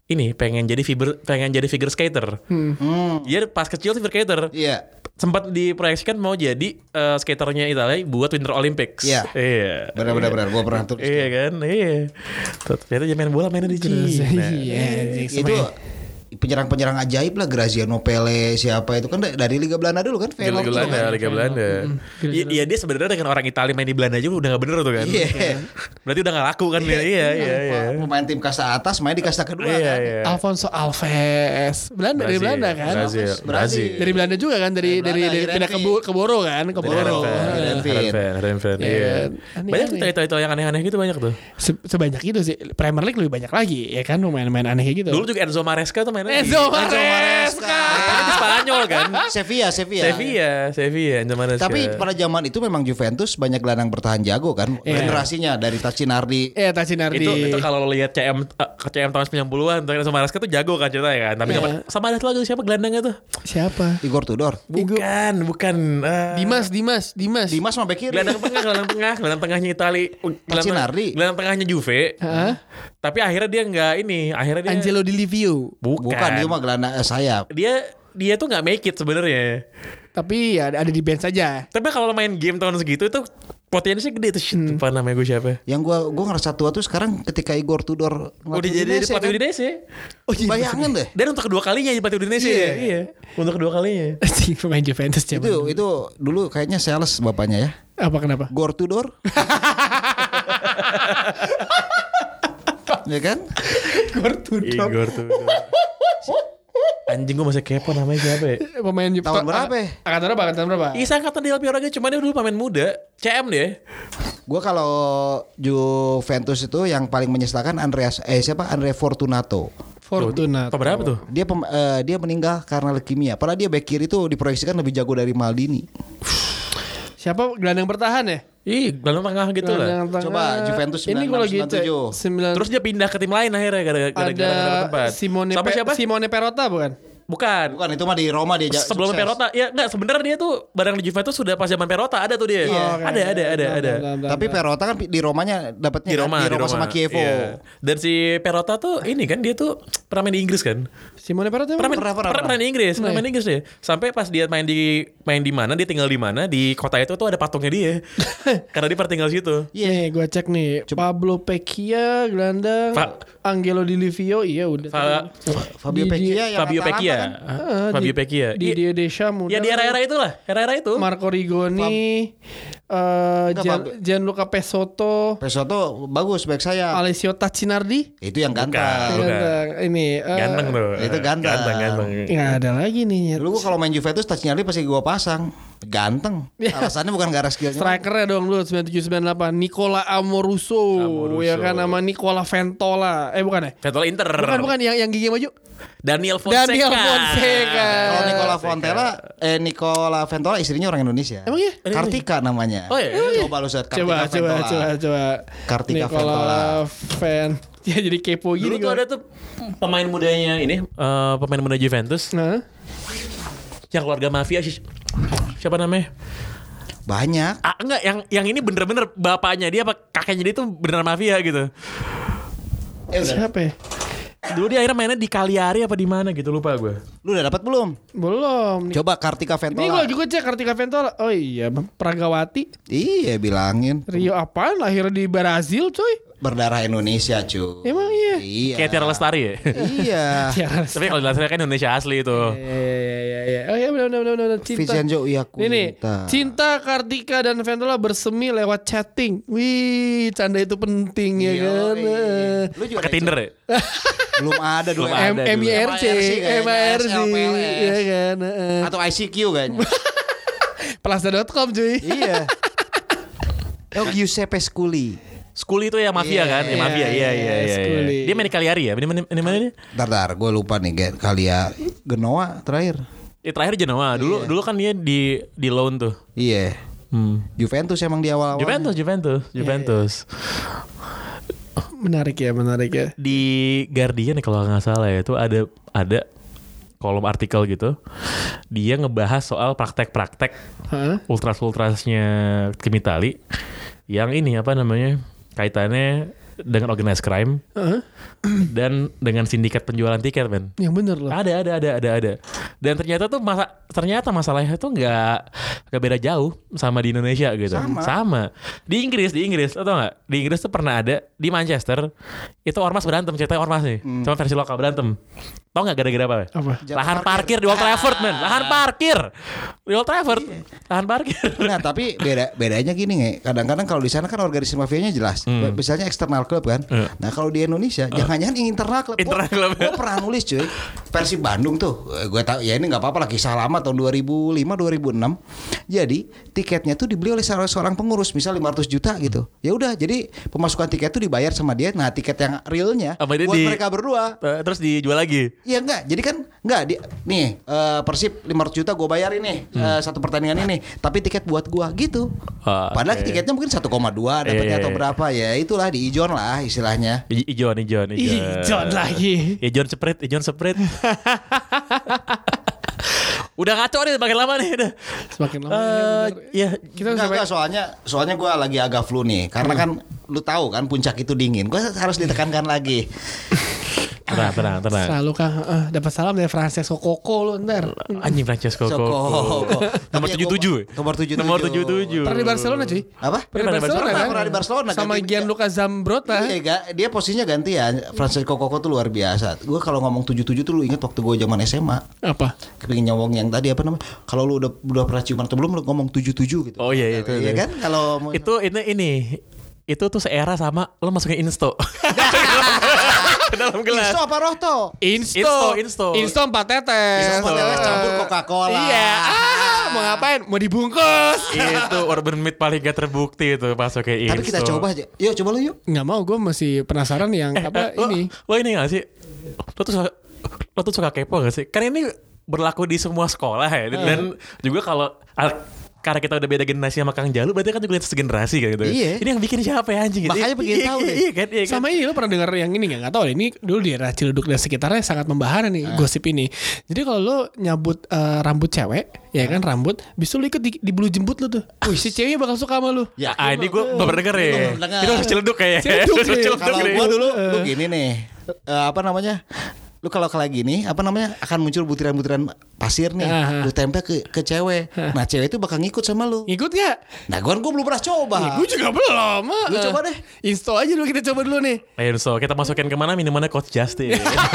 [SPEAKER 2] figure skater. Dia pas kecil figure skater.
[SPEAKER 3] Iya.
[SPEAKER 2] Sempat diproyeksikan mau jadi skaternya Italia buat Winter Olympics.
[SPEAKER 3] Iya. Benar. Gue pernah tulis.
[SPEAKER 2] Iya kan, iya. Ternyata dia main bola mainnya di Cina.
[SPEAKER 1] Iya.
[SPEAKER 3] Itu penyerang-penyerang ajaib lah, Graziano Pelle siapa itu kan dari Liga Belanda dulu kan.
[SPEAKER 2] Liga Belanda. Iya dia sebenarnya dengan orang Italia main di Belanda juga udah gak bener tuh kan.
[SPEAKER 3] Iya.
[SPEAKER 2] Berarti udah gak laku kan. Iya.
[SPEAKER 3] Pemain tim kasta atas main di kasta kedua kan.
[SPEAKER 2] Iya.
[SPEAKER 1] Alfonso Alves. Belanda dari Belanda kan.
[SPEAKER 2] Brazil.
[SPEAKER 1] Dari Belanda juga kan dari
[SPEAKER 3] Belanda,
[SPEAKER 1] pindah ke Boro kan, ke Boro.
[SPEAKER 2] Renfen. Iya. Banyak tuh cerita-cerita yang aneh-aneh gitu banyak tuh.
[SPEAKER 1] Sebanyak itu sih. Premier League lebih banyak lagi ya kan pemain-pemain aneh kayak gitu.
[SPEAKER 2] Dulu juga Enzo Maresca tuh mainnya
[SPEAKER 1] Enzo Maresca.
[SPEAKER 2] Mainnya di Spanyol kan.
[SPEAKER 3] Sevilla.
[SPEAKER 2] Enzo Maresca.
[SPEAKER 3] Tapi pada zaman itu memang Juventus banyak gelandang bertahan jago kan. Generasinya dari Tacinardi.
[SPEAKER 1] Tacinardi.
[SPEAKER 2] Itu kalau lo lihat CM tahun 90-an tuh Enzo Maresca tuh jago kan ceritanya kan. Tapi sama ada lagi siapa gelandangnya tuh?
[SPEAKER 1] Siapa?
[SPEAKER 3] Igor Tudor.
[SPEAKER 2] Bukan.
[SPEAKER 1] Dimas.
[SPEAKER 3] Dimas mah bek kiri.
[SPEAKER 2] Gelandang tengahnya Itali.
[SPEAKER 3] Tacinardi.
[SPEAKER 2] Gelandang tengahnya Juve. Tapi akhirnya dia nggak ini. Akhirnya dia
[SPEAKER 1] Angelo Di Livio.
[SPEAKER 3] Bukan dia mah gelandang sayap.
[SPEAKER 2] Dia tuh nggak make it sebenarnya.
[SPEAKER 1] Tapi ya ada di bench saja.
[SPEAKER 2] Tapi kalau main game tahun segitu itu potensinya gede tuh. Shit, lupa namanya gue siapa.
[SPEAKER 3] Yang gua ngerasa tua tuh sekarang ketika Igor Tudor
[SPEAKER 2] Udah jadi pelatih Udinese.
[SPEAKER 3] Oh iya. Bayangin deh.
[SPEAKER 2] Dan untuk kedua kalinya jadi pelatih Udinese. Iya. Untuk kedua kalinya.
[SPEAKER 1] Pemain Juventus
[SPEAKER 3] Itu dulu kayaknya sales bapaknya ya.
[SPEAKER 1] Apa kenapa?
[SPEAKER 3] Igor Tudor. Ya kan?
[SPEAKER 2] Igor Tudor. Anjing gue masih kepo namanya siapa ya?
[SPEAKER 1] Pemain
[SPEAKER 3] Tahun berapa ya?
[SPEAKER 1] Angkatan berapa?
[SPEAKER 2] Iya angkatan Del Piero aja. Cuma dia dulu pemain muda. CM dia.
[SPEAKER 3] Gue kalau Juventus itu yang paling menyesalkan Andre Fortunato.
[SPEAKER 1] Fortunato.
[SPEAKER 2] Apa berapa tuh?
[SPEAKER 3] Dia meninggal karena leukemia. Padahal dia back kiri itu diproyeksikan lebih jago dari Maldini.
[SPEAKER 1] Siapa gelandang bertahan ya?
[SPEAKER 2] Gelandang tengah gitu lah.
[SPEAKER 3] Coba Juventus 96,
[SPEAKER 1] Ini kalau gitu
[SPEAKER 3] 97.
[SPEAKER 2] Terus dia pindah ke tim lain akhirnya gara-gara
[SPEAKER 1] ada
[SPEAKER 2] tempat.
[SPEAKER 1] Simone
[SPEAKER 2] Sama siapa?
[SPEAKER 1] Simone Perrotta bukan?
[SPEAKER 2] Bukan.
[SPEAKER 3] Bukan, itu mah di Roma dia
[SPEAKER 2] Sebelum
[SPEAKER 3] sukses.
[SPEAKER 2] Perota. Ya enggak, sebenarnya dia tuh bareng di Juventus sudah pas zaman Perota ada tuh dia.
[SPEAKER 3] Iya.
[SPEAKER 2] Ada.
[SPEAKER 3] Tapi Perota kan di Romanya dapatnya
[SPEAKER 2] Di Roma,
[SPEAKER 3] sama Chievo.
[SPEAKER 2] Iya. Dan si Perota tuh ini kan dia tuh pernah main di Inggris kan.
[SPEAKER 1] Simone Perrota emang?
[SPEAKER 2] Pernah main di Inggris, pernah main di Inggris dia. Sampai pas dia main di mana, dia tinggal di mana, di kota itu tuh ada patungnya dia. Karena dia pernah tinggal situ.
[SPEAKER 1] Nih gue cek nih Pablo Pecchia gelandang, Angelo Di Livio udah.
[SPEAKER 3] Fabio Pecchia yang
[SPEAKER 2] Fabio
[SPEAKER 3] Atalanta
[SPEAKER 2] Pecchia.
[SPEAKER 3] kan?
[SPEAKER 2] Fabio Pecchia.
[SPEAKER 1] Didier Deschamps
[SPEAKER 2] Ya di era-era itulah, era-era itu.
[SPEAKER 1] Marco Rigoni, Gianluca Pesotto,
[SPEAKER 3] Pesotto bagus back saya.
[SPEAKER 1] Alessio Taccinardi.
[SPEAKER 3] Itu yang ganteng.
[SPEAKER 2] Bukan.
[SPEAKER 1] Ganteng. Ini
[SPEAKER 2] Ganteng tuh.
[SPEAKER 3] Itu ganteng.
[SPEAKER 2] Ganteng.
[SPEAKER 1] nggak ada lagi nih.
[SPEAKER 3] Dulu gua kalau main Juventus Taccinardi pasti gua pasang. Ganteng. Alasannya bukan gara skillnya.
[SPEAKER 1] Strikernya dong dulu 9798 Nicola Amoruso, ya kan, sama Nicola Ventola. Bukan ya?
[SPEAKER 2] Ventola Inter.
[SPEAKER 1] Bukan yang gigi maju.
[SPEAKER 2] Daniel Fonseca.
[SPEAKER 3] Kalau Nicola Ventola istrinya orang Indonesia.
[SPEAKER 1] Emang iya?
[SPEAKER 3] Kartika namanya.
[SPEAKER 2] Oh iya.
[SPEAKER 3] Coba lu search
[SPEAKER 1] Coba.
[SPEAKER 3] Kartika
[SPEAKER 1] Nicola Ya jadi kepo
[SPEAKER 2] Dulu
[SPEAKER 1] gini
[SPEAKER 2] tuh
[SPEAKER 1] gua.
[SPEAKER 2] ada tuh pemain mudanya ini, pemain muda Juventus
[SPEAKER 1] Nah,
[SPEAKER 2] yang keluarga mafia siapa namanya?
[SPEAKER 3] Banyak.
[SPEAKER 2] Enggak, yang ini bener-bener bapaknya dia apa kakeknya dia tuh beneran mafia gitu.
[SPEAKER 1] siapa ya?
[SPEAKER 2] Dulu dia akhirnya mainnya di Cagliari apa di mana gitu, lupa gue.
[SPEAKER 3] Lu udah dapat belum?
[SPEAKER 1] Belum.
[SPEAKER 3] Coba Kartika
[SPEAKER 1] Ini
[SPEAKER 3] Ventola.
[SPEAKER 1] gue juga cek Kartika Ventola. Oh iya, Pragawati.
[SPEAKER 3] Iya bilangin.
[SPEAKER 1] Rio apaan? Lahir di Brazil, coy.
[SPEAKER 3] Berdarah Indonesia cuy.
[SPEAKER 1] Emang iya.
[SPEAKER 3] Iya.
[SPEAKER 2] Kayak Tiara Lestari ya.
[SPEAKER 3] Iya.
[SPEAKER 1] Tiara.
[SPEAKER 2] Tapi kalau Lestari kan Indonesia asli itu.
[SPEAKER 1] Iya. Oh iya benar. Cinta.
[SPEAKER 3] Vincenzo Iacuita.
[SPEAKER 1] Ini Cinta, Kartika dan Ventola bersemi lewat chatting. Wih, canda itu penting ya kan.
[SPEAKER 3] Lu juga
[SPEAKER 2] Pakai Tinder ya?
[SPEAKER 3] belum ada dulu.
[SPEAKER 2] Belum ada.
[SPEAKER 1] MIRC,
[SPEAKER 3] MIRC,
[SPEAKER 1] ya kan.
[SPEAKER 3] Atau ICQ kayaknya.
[SPEAKER 1] Plaza.com cuy.
[SPEAKER 3] Iya. Oh Giuseppe Scully.
[SPEAKER 2] Skuli itu ya mafia kan? Ya mafia. Iya.
[SPEAKER 1] Scully.
[SPEAKER 2] Dia main di Cagliari ya? Di mana dia?
[SPEAKER 3] Bentar, gue lupa nih kali ya. Genoa terakhir.
[SPEAKER 2] Terakhir Genoa. Dulu kan dia di loan tuh.
[SPEAKER 3] Iya. Juventus emang di awal-awal.
[SPEAKER 2] Juventus.
[SPEAKER 1] Menarik ya.
[SPEAKER 2] Di Guardian ya kalau nggak salah ya, itu ada kolom artikel gitu. Dia ngebahas soal praktek-praktek ultrasnya tim Itali yang ini apa namanya, kaitannya dengan organized crime dan dengan sindikat penjualan tiket, men.
[SPEAKER 1] Yang bener loh.
[SPEAKER 2] Ada. Dan ternyata masalahnya tuh nggak beda jauh sama di Indonesia gitu. Sama. Di Inggris, atau nggak? Di Inggris tuh pernah ada di Manchester itu ormas berantem, ceritanya ormas nih, sama versi lokal berantem. Tau nggak gara-gara apa? Lahan parkir di Old Trafford, men. Lahan parkir di Old Trafford. Lahan parkir.
[SPEAKER 3] Nah tapi bedanya gini nge. Kadang-kadang kalau di sana kan organisasi mafianya jelas. Misalnya eksternal klub kan. Nah kalau di Indonesia jangan-jangan internal klub. Gue pernah nulis cuy. Persib Bandung tuh. Gue tahu ya ini nggak apa-apa lah, kisah lama tahun 2005 2006. Jadi tiketnya tuh dibeli oleh seorang pengurus, misal 500 juta gitu. Ya udah, jadi pemasukan tiket tuh dibayar sama dia. Nah tiket yang realnya buat mereka berdua.
[SPEAKER 2] Terus dijual lagi.
[SPEAKER 3] Iya enggak, jadi kan enggak nih Persib 500 juta gue bayar ini satu pertandingan ini, tapi tiket buat gue gitu. Padahal tiketnya mungkin 1,2 dapatnya atau berapa ya, itulah di ijon lah istilahnya.
[SPEAKER 2] Ijon
[SPEAKER 1] lagi.
[SPEAKER 2] Ijon spread. Udah ngaco nih semakin lama nih udah.
[SPEAKER 1] Semakin lama
[SPEAKER 2] ya
[SPEAKER 1] kita
[SPEAKER 3] Enggak, soalnya gue lagi agak flu nih, karena kan lu tahu kan puncak itu dingin, gue harus ditekankan lagi.
[SPEAKER 2] Tenang.
[SPEAKER 1] Selalu Kang dapat salam dari Francesco Coco lu ntar.
[SPEAKER 2] Anjing Francesco Coco. Nomor 77. Nomor 77.
[SPEAKER 1] Pernah di Barcelona cuy.
[SPEAKER 3] Apa?
[SPEAKER 1] Pernah di Barcelona
[SPEAKER 3] kan?
[SPEAKER 1] Sama Gianluca Zambrotta.
[SPEAKER 3] Iya, dia posisinya gantian. Francesco Coco tuh luar biasa. Gue kalau ngomong 77 tuh lu inget waktu gue zaman SMA.
[SPEAKER 1] Apa?
[SPEAKER 3] Kepingin nyawong yang tadi apa namanya? Kalau lu udah pernah ciuman atau belum, lu ngomong 77 gitu.
[SPEAKER 2] Oh iya itu.
[SPEAKER 3] Iya kan? Kalau
[SPEAKER 2] itu tuh seera sama lo masukin Insto. Ke dalam gelas.
[SPEAKER 3] Insto apa Rohto?
[SPEAKER 1] Insto 4 tetes.
[SPEAKER 3] Insto campur Coca-Cola.
[SPEAKER 1] Iya. Mau ngapain? Mau dibungkus.
[SPEAKER 2] Itu urban myth paling gak terbukti itu masukin Insto.
[SPEAKER 3] Tapi kita coba aja. Yuk coba lu yuk.
[SPEAKER 1] Nggak mau, gue masih penasaran yang ini.
[SPEAKER 2] Lo ini gak sih? Lo tuh suka kepo gak sih? Kan ini berlaku di semua sekolah ya. Dan juga kalau karena kita udah beda generasi sama Kang Jalu, berarti kan juga segenerasi kan gitu.
[SPEAKER 3] Iya.
[SPEAKER 2] Ini yang bikin siapa ya anjing?
[SPEAKER 3] Makanya pengen tahu deh.
[SPEAKER 2] Iya kan?
[SPEAKER 1] Sama ini lo pernah dengar yang ini nggak tahu deh, ini dulu di daerah Ciledug dan sekitarnya sangat membahana nih gosip ini. Jadi kalau lo nyabut rambut cewek, ya kan rambut, bisa lo ikut di bulu jembut lo tuh. Wih, si ceweknya bakal suka sama lo.
[SPEAKER 3] Ya,
[SPEAKER 2] Ini gue belum pernah denger ya. Itu harus Ciledug kayak.
[SPEAKER 3] kalau gua dulu lu gini nih. Apa namanya? Lu kalau kayak gini, apa namanya? Akan muncul butiran-butiran pasir nih. Lu tempel ke cewek. Nah, cewek itu bakal ngikut sama lu.
[SPEAKER 1] Ngikut gak?
[SPEAKER 3] Nah, gua belum pernah coba.
[SPEAKER 1] Gue juga belum.
[SPEAKER 3] Lu coba deh.
[SPEAKER 1] Install aja dulu, kita coba dulu nih.
[SPEAKER 2] Ayo so kita masukin kemana minumannya Coach Justin.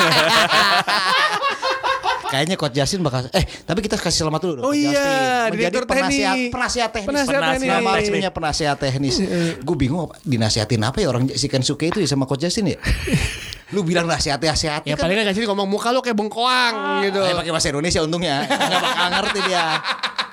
[SPEAKER 3] Kayaknya Coach Justin bakal tapi kita kasih selamat dulu dong.
[SPEAKER 1] Oh
[SPEAKER 3] Coach
[SPEAKER 1] iya,
[SPEAKER 3] Justin. Menjadi
[SPEAKER 1] direktur teknik.
[SPEAKER 3] penasihat teknis.
[SPEAKER 1] Penasihat teknis.
[SPEAKER 3] Nama resminya penasihat teknis. Gue bingung dinasihatin apa ya orang si Kensuke itu ya sama Coach Justin ya. Lu bilang nasihati
[SPEAKER 1] Ya
[SPEAKER 3] kan.
[SPEAKER 1] paling kan kasih ngomong muka lo kayak bengkoang gitu.
[SPEAKER 3] Pakai bahasa Indonesia untungnya. Enggak bakal ngerti dia.